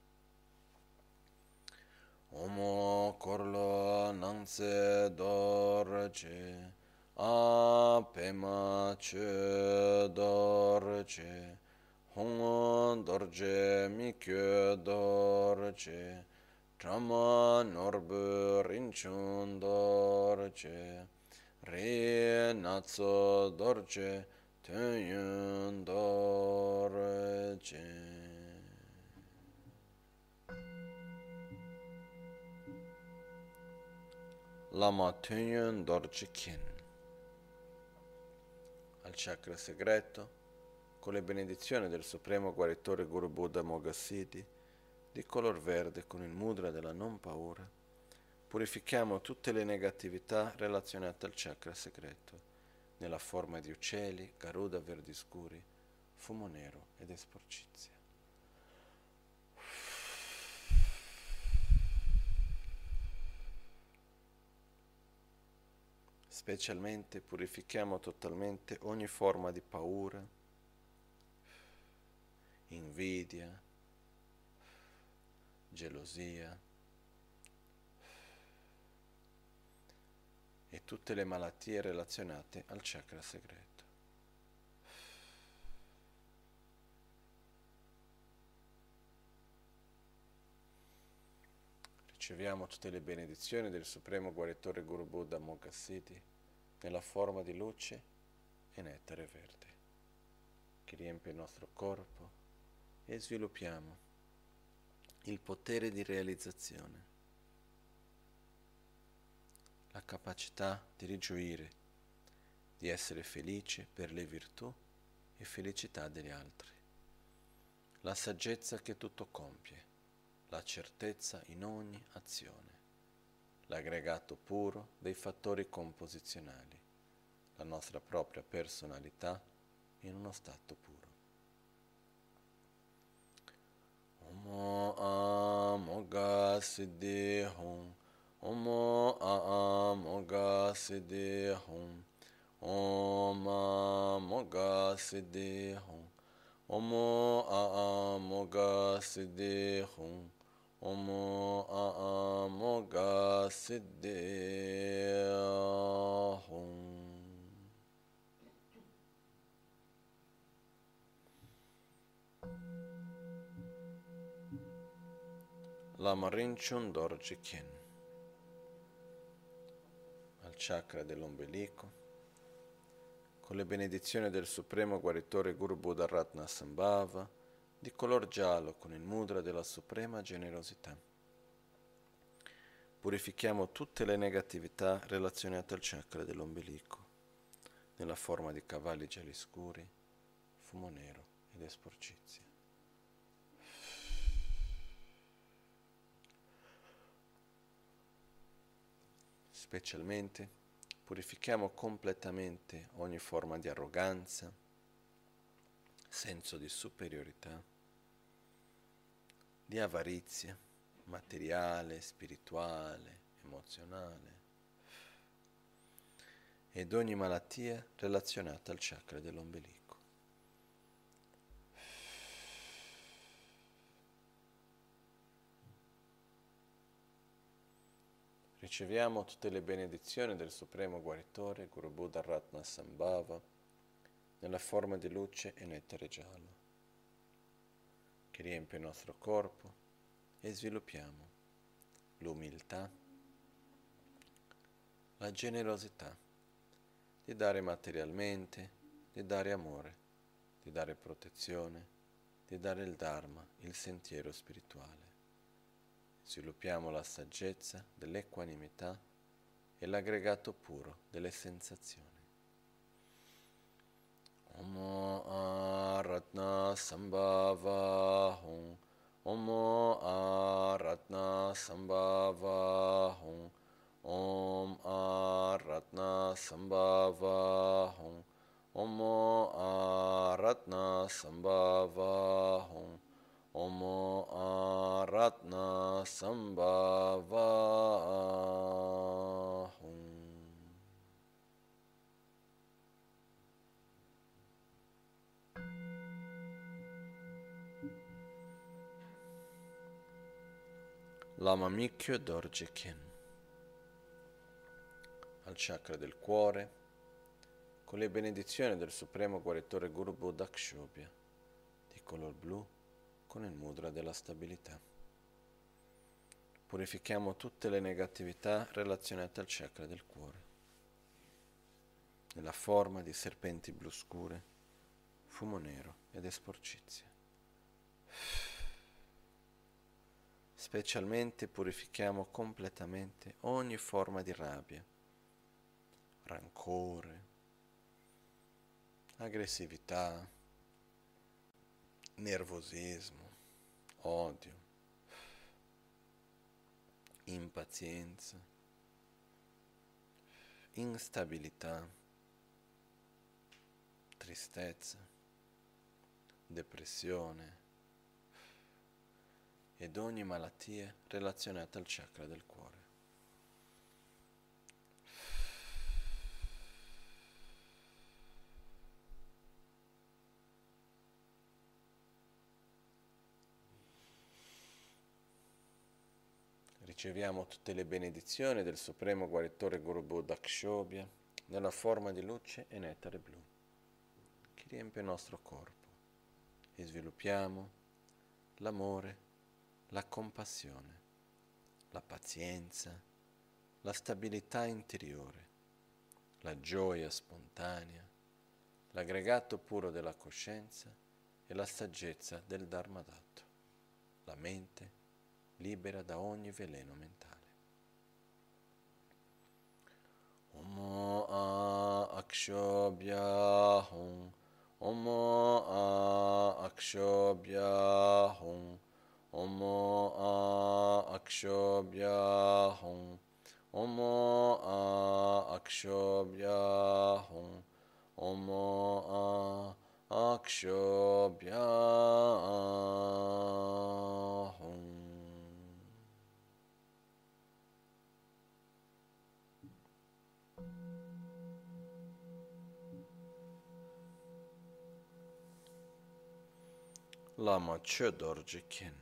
Omo korlo nangse dorje, a pema che dorje, hongo dorje mikyo dorje, trama norbu rinchun dorje, re natso dorje, tenyun dorje. Lama Töngyön Dorje Khin. Al chakra segreto, con le benedizioni del supremo guaritore Guru Buddha Amoghasiddhi, di color verde con il mudra della non paura, purifichiamo tutte le negatività relazionate al chakra segreto, nella forma di uccelli, garuda verdi scuri, fumo nero ed esporcizia. Specialmente purifichiamo totalmente ogni forma di paura, invidia, gelosia e tutte le malattie relazionate al chakra segreto. Riceviamo tutte le benedizioni del Supremo Guaritore Guru Buddha Moghasiddhi nella forma di luce e nettare verde, che riempie il nostro corpo, e sviluppiamo il potere di realizzazione, la capacità di rigioire, di essere felice per le virtù e felicità degli altri, la saggezza che tutto compie, la certezza in ogni azione, l'aggregato puro dei fattori composizionali, la nostra propria personalità in uno stato puro. Omo Amoga Siddhi Hum, Omo Amoga Siddhi Hum, Om Amoga Siddhi Hum, Omo Amoga Siddhi Hum, Omo Amoga Siddhi Hum. Lama Rinchen Dorje Khen, al chakra dell'ombelico, con le benedizioni del Supremo Guaritore Guru Buddha Ratna Sambhava, di color giallo con il mudra della suprema generosità. Purifichiamo tutte le negatività relazionate al chakra dell'ombelico, nella forma di cavalli gialli scuri, fumo nero ed esporcizia. Specialmente purifichiamo completamente ogni forma di arroganza, senso di superiorità, di avarizia materiale, spirituale, emozionale ed ogni malattia relazionata al chakra dell'ombelico. Riceviamo tutte le benedizioni del Supremo Guaritore Guru Buddha Ratna Sambhava nella forma di luce e nettare giallo, che riempie il nostro corpo, e sviluppiamo l'umiltà, la generosità di dare materialmente, di dare amore, di dare protezione, di dare il Dharma, il sentiero spirituale. Sviluppiamo la saggezza dell'equanimità e l'aggregato puro delle sensazioni. Omo Aratna Sambhava Hum, Omo Aratna Sambhava Hum, Om Aratna Sambhava Hum, Omo Aratna Sambhava Hum, Omo Aratna Sambhava Hum. Lama Mikyo Dorje Khen, al chakra del cuore, con le benedizioni del Supremo Guaritore Guru Buddha Kshobhya, di color blu con il mudra della stabilità. Purifichiamo tutte le negatività relazionate al chakra del cuore, nella forma di serpenti blu scure, fumo nero ed esporcizia. Specialmente purifichiamo completamente ogni forma di rabbia, rancore, aggressività, nervosismo, odio, impazienza, instabilità, tristezza, depressione ed ogni malattia relazionata al chakra del cuore. Riceviamo tutte le benedizioni del Supremo Guaritore Guru Buddha Kshobhya nella forma di luce e nettare blu che riempie il nostro corpo e sviluppiamo l'amore, la compassione, la pazienza, la stabilità interiore, la gioia spontanea, l'aggregato puro della coscienza e la saggezza del Dharmadatta, la mente libera da ogni veleno mentale. Omo a akshobhya hum, Omo a akshobhya hum, Omo a akshobhya hum, Omo a akshobhya hum, Omo a akshobhya hum. Lama Chodorje Khen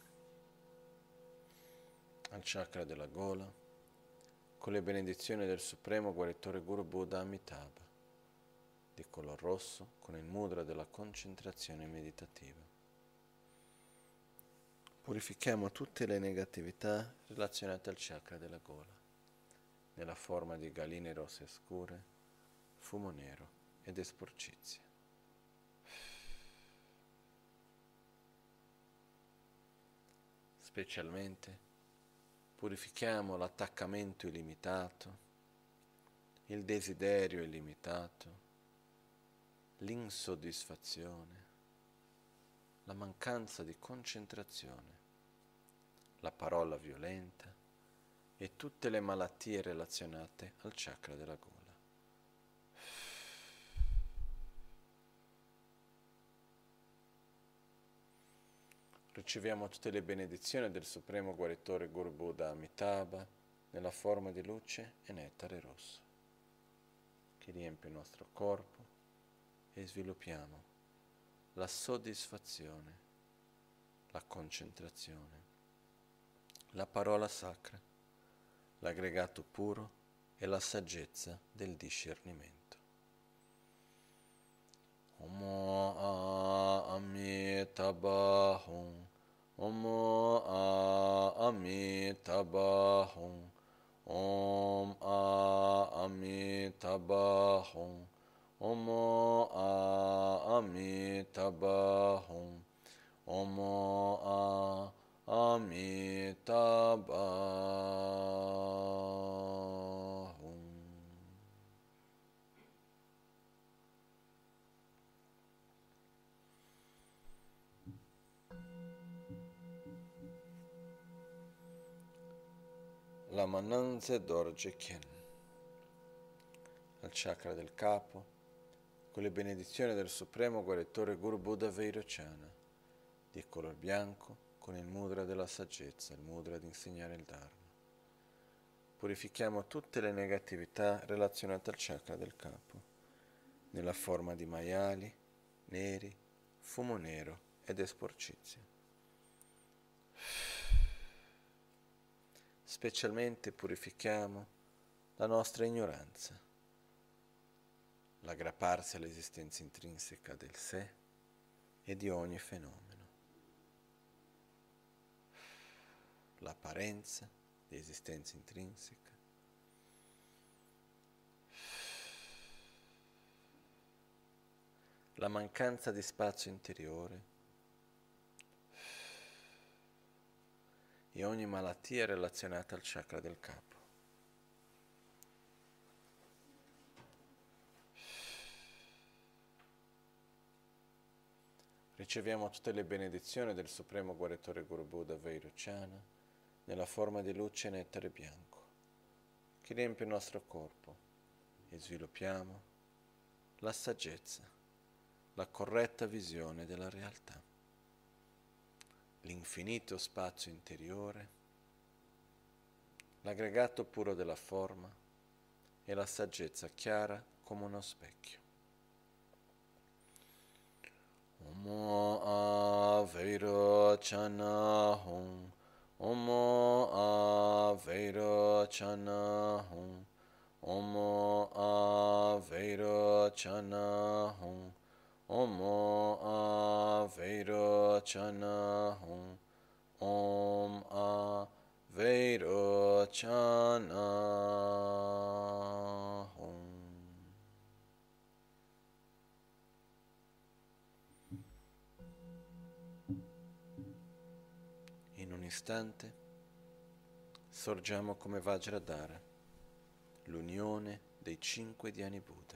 al chakra della gola con le benedizioni del Supremo Guaritore Guru Buddha Amitabha di color rosso con il mudra della concentrazione meditativa. Purifichiamo tutte le negatività relazionate al chakra della gola nella forma di galline rosse scure, fumo nero ed esporcizia. Specialmente purifichiamo l'attaccamento illimitato, il desiderio illimitato, l'insoddisfazione, la mancanza di concentrazione, la parola violenta e tutte le malattie relazionate al chakra della gola. Riceviamo tutte le benedizioni del Supremo Guaritore Guru Buddha Amitabha nella forma di luce e nettare rosso che riempie il nostro corpo e sviluppiamo la soddisfazione, la concentrazione, la parola sacra, l'aggregato puro e la saggezza del discernimento. Omo a Amitabha Hum, Omo a Amitabha Hum, Om a Amitabha Hum, Omo a Amitabha Hum, Omo a Amitabha Hum. Lama Nanze Dorje Khen al chakra del capo con le benedizioni del Supremo Guaritore Guru Buddha Vairocana di color bianco con il mudra della saggezza, il mudra di insegnare il Dharma. Purifichiamo tutte le negatività relazionate al chakra del capo nella forma di maiali, neri, fumo nero ed esporcizia. Specialmente purifichiamo la nostra ignoranza, l'aggrapparsi all'esistenza intrinseca del sé e di ogni fenomeno, l'apparenza di esistenza intrinseca, la mancanza di spazio interiore e ogni malattia relazionata al chakra del capo. Riceviamo tutte le benedizioni del Supremo Guaritore Guru Buddha Vairocana nella forma di luce e nettare bianco che riempie il nostro corpo e sviluppiamo la saggezza, la corretta visione della realtà, l'infinito spazio interiore, l'aggregato puro della forma e la saggezza chiara come uno specchio. Omo a Vairocana Hum, Omo Aveira Chana Hum. Omo Aveira Chana Hum. Omo Aveira Chana Hum. Om Aveira Chana Hum. In un istante sorgiamo come Vajradhara, l'unione dei cinque Dhyani Buddha.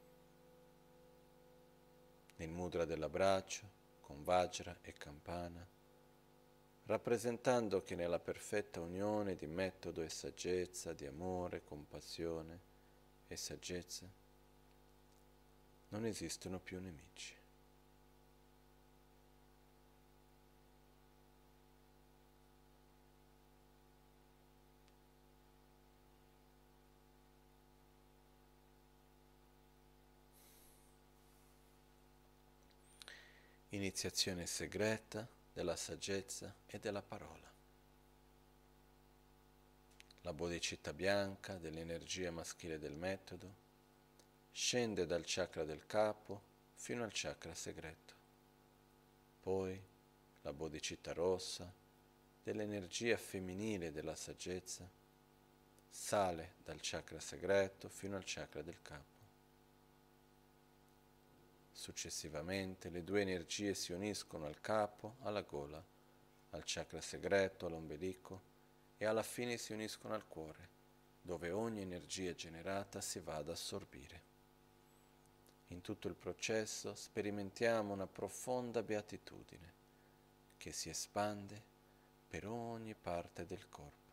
Nel mudra dell'abbraccio, con Vajra e Campana, rappresentando che nella perfetta unione di metodo e saggezza, di amore, compassione e saggezza, non esistono più nemici. Iniziazione segreta della saggezza e della parola. La bodhicitta bianca dell'energia maschile del metodo scende dal chakra del capo fino al chakra segreto. Poi la bodhicitta rossa dell'energia femminile della saggezza sale dal chakra segreto fino al chakra del capo. Successivamente le due energie si uniscono al capo, alla gola, al chakra segreto, all'ombelico e alla fine si uniscono al cuore, dove ogni energia generata si va ad assorbire. In tutto il processo sperimentiamo una profonda beatitudine che si espande per ogni parte del corpo.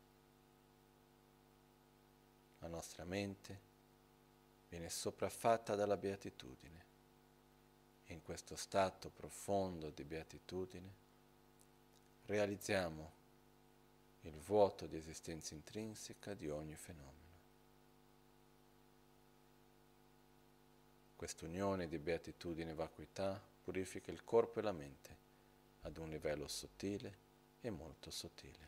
La nostra mente viene sopraffatta dalla beatitudine. In questo stato profondo di beatitudine realizziamo il vuoto di esistenza intrinseca di ogni fenomeno. Quest'unione di beatitudine e vacuità purifica il corpo e la mente ad un livello sottile e molto sottile.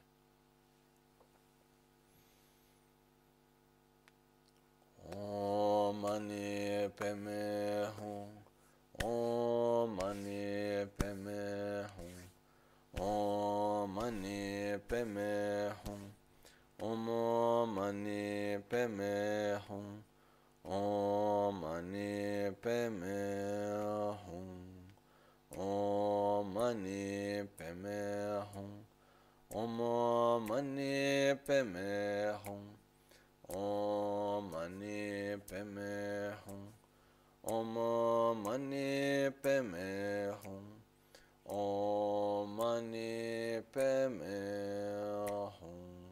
Om Mani Padme Hum. Om Mani Padme Hum. Om Mani Padme Hum. Om Mani Padme Hum. Om Mani Padme Hum. Om Mani Padme Hum. Om Mani Padme Hum. Om Mani Padme Hum. Om Mani Padme Hum. Om Mani Padme Hum.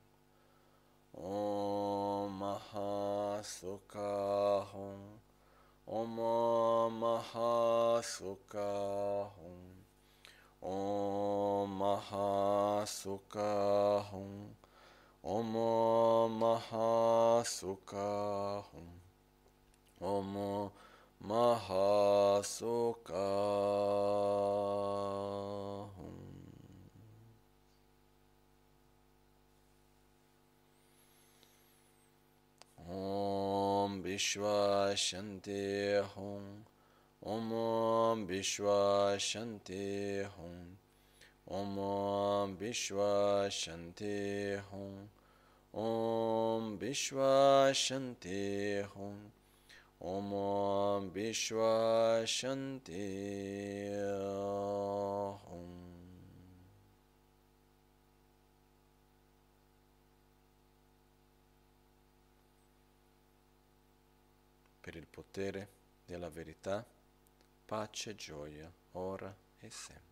Om Mahasukha Hum. Om Mahasukha Hum. Om Mahasukha Hum. Om Mahasukha Hum. Om Mahasukha Hum. Om Vishwa Shanti Hum. Om Vishwa Shanti Hum. Om Vishwa Shanti Hum. Om Vishwa Shanti Hum. Om Vishwa Shanti Hum. Per il potere della verità, pace e gioia, ora e sempre.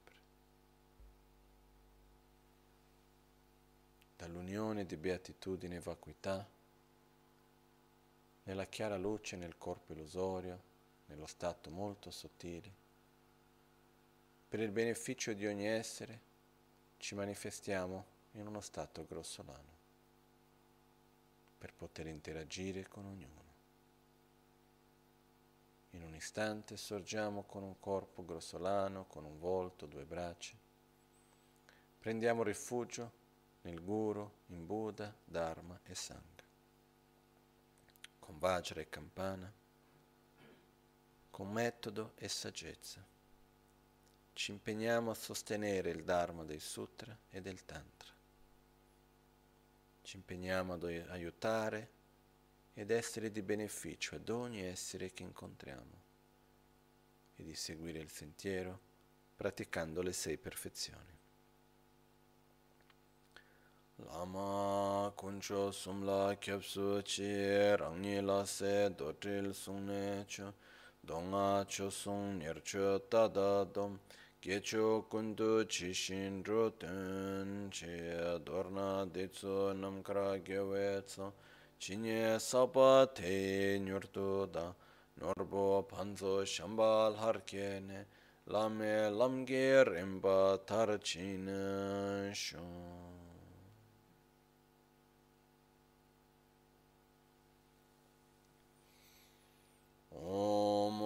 Dall'unione di beatitudine e vacuità, nella chiara luce nel corpo illusorio, nello stato molto sottile, per il beneficio di ogni essere, ci manifestiamo in uno stato grossolano, per poter interagire con ognuno. In un istante sorgiamo con un corpo grossolano, con un volto, due braccia, Prendiamo rifugio nel Guru, in Buddha, Dharma e Sangha, con Vajra e campana, con metodo e saggezza. Ci impegniamo a sostenere il Dharma del Sutra e del Tantra. Ci impegniamo ad aiutare ed essere di beneficio ad ogni essere che incontriamo e di seguire il sentiero praticando le sei perfezioni. Lama kuncho sumla kyapsu chi rangni la se dotril sungne cho donga cho sung nircho tada dom gecho kundu chi shin ro ten chi dorna detsu namkra gewe tso chinye sapa te nyurtu da norbo panzo shambal harkene lame lamge rimba tarchina shon. Om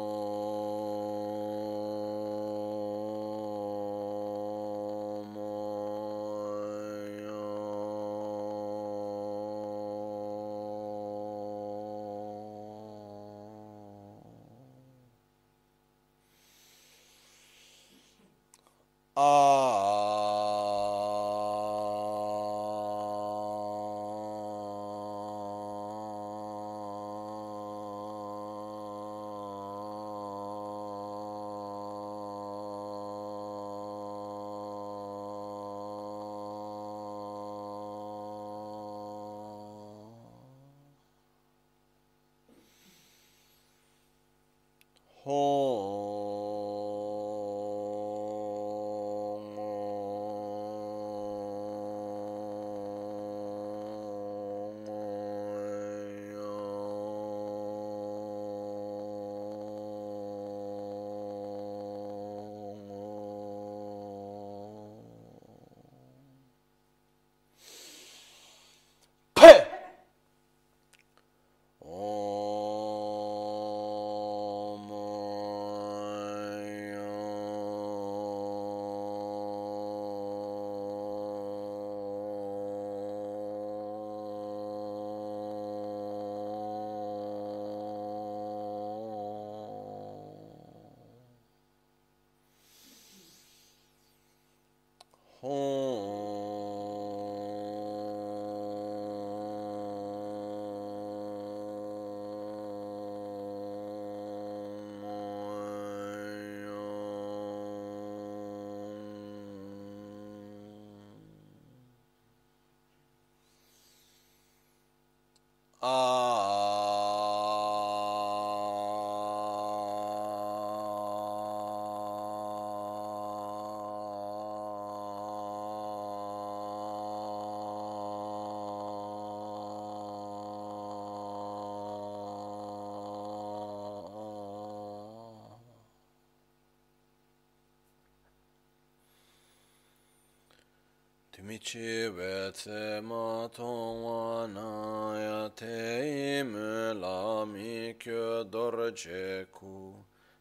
Timichi vetse ma tongwa na ya te ime la mi kyo dorje ku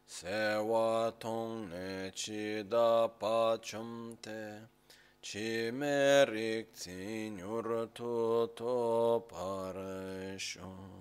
se wa tong ne chi da pa chum te chi me rik tsi nyur tu to pare shon.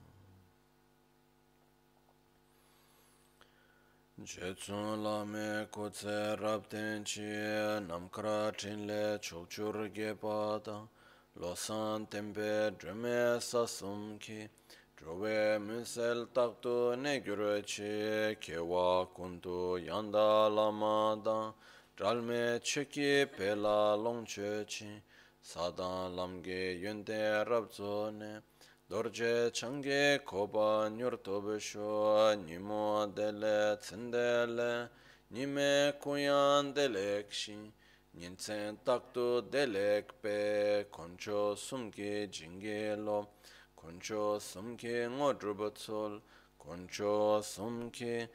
Jetsun lame kutse rapten chi namkra chinle chokchur gepada losan tempe drume sasum ki drove musel taktu negyur chi kewa kuntu yanda lamada dralme cheki pela longche chi sadan lamge yunte rabzone dorje change koba nyurtobesho nimo dele tsendele nime kuyan delekshi ninsen taktu delekpe koncho sumki jingelo koncho sumki ngodrubatsol koncho sumki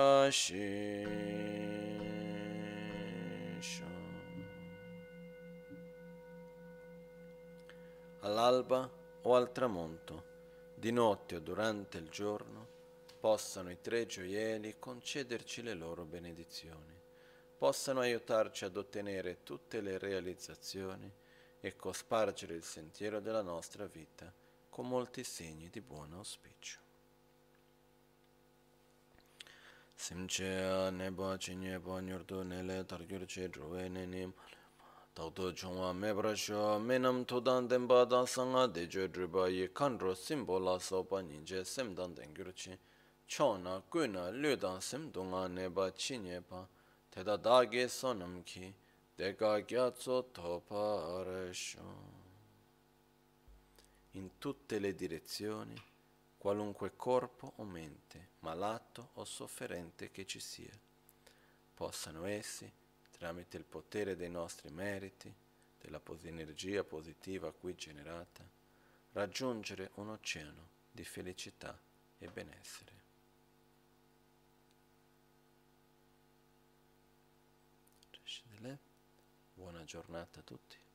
trashisho. All'alba o al tramonto, di notte o durante il giorno, possano i tre gioielli concederci le loro benedizioni. possano aiutarci ad ottenere tutte le realizzazioni e cospargere il sentiero della nostra vita con molti segni di buon auspicio. Simchea neba chinyeba nyurdu nele targyurche druwe nenim Tauto chungwa mebrasho menam todan denpa dan sanga dejo druba ye kanro simbola sopa ninje semdan dengyurchi chona kuna ludan semdunga neba chinyeba teda dage sonam ki dega gyatso topa aresho. In tutte le direzioni, qualunque corpo o mente, malato o sofferente che ci sia, possano essi, tramite il potere dei nostri meriti, della pos- energia positiva qui generata, raggiungere un oceano di felicità e benessere. Buona giornata a tutti.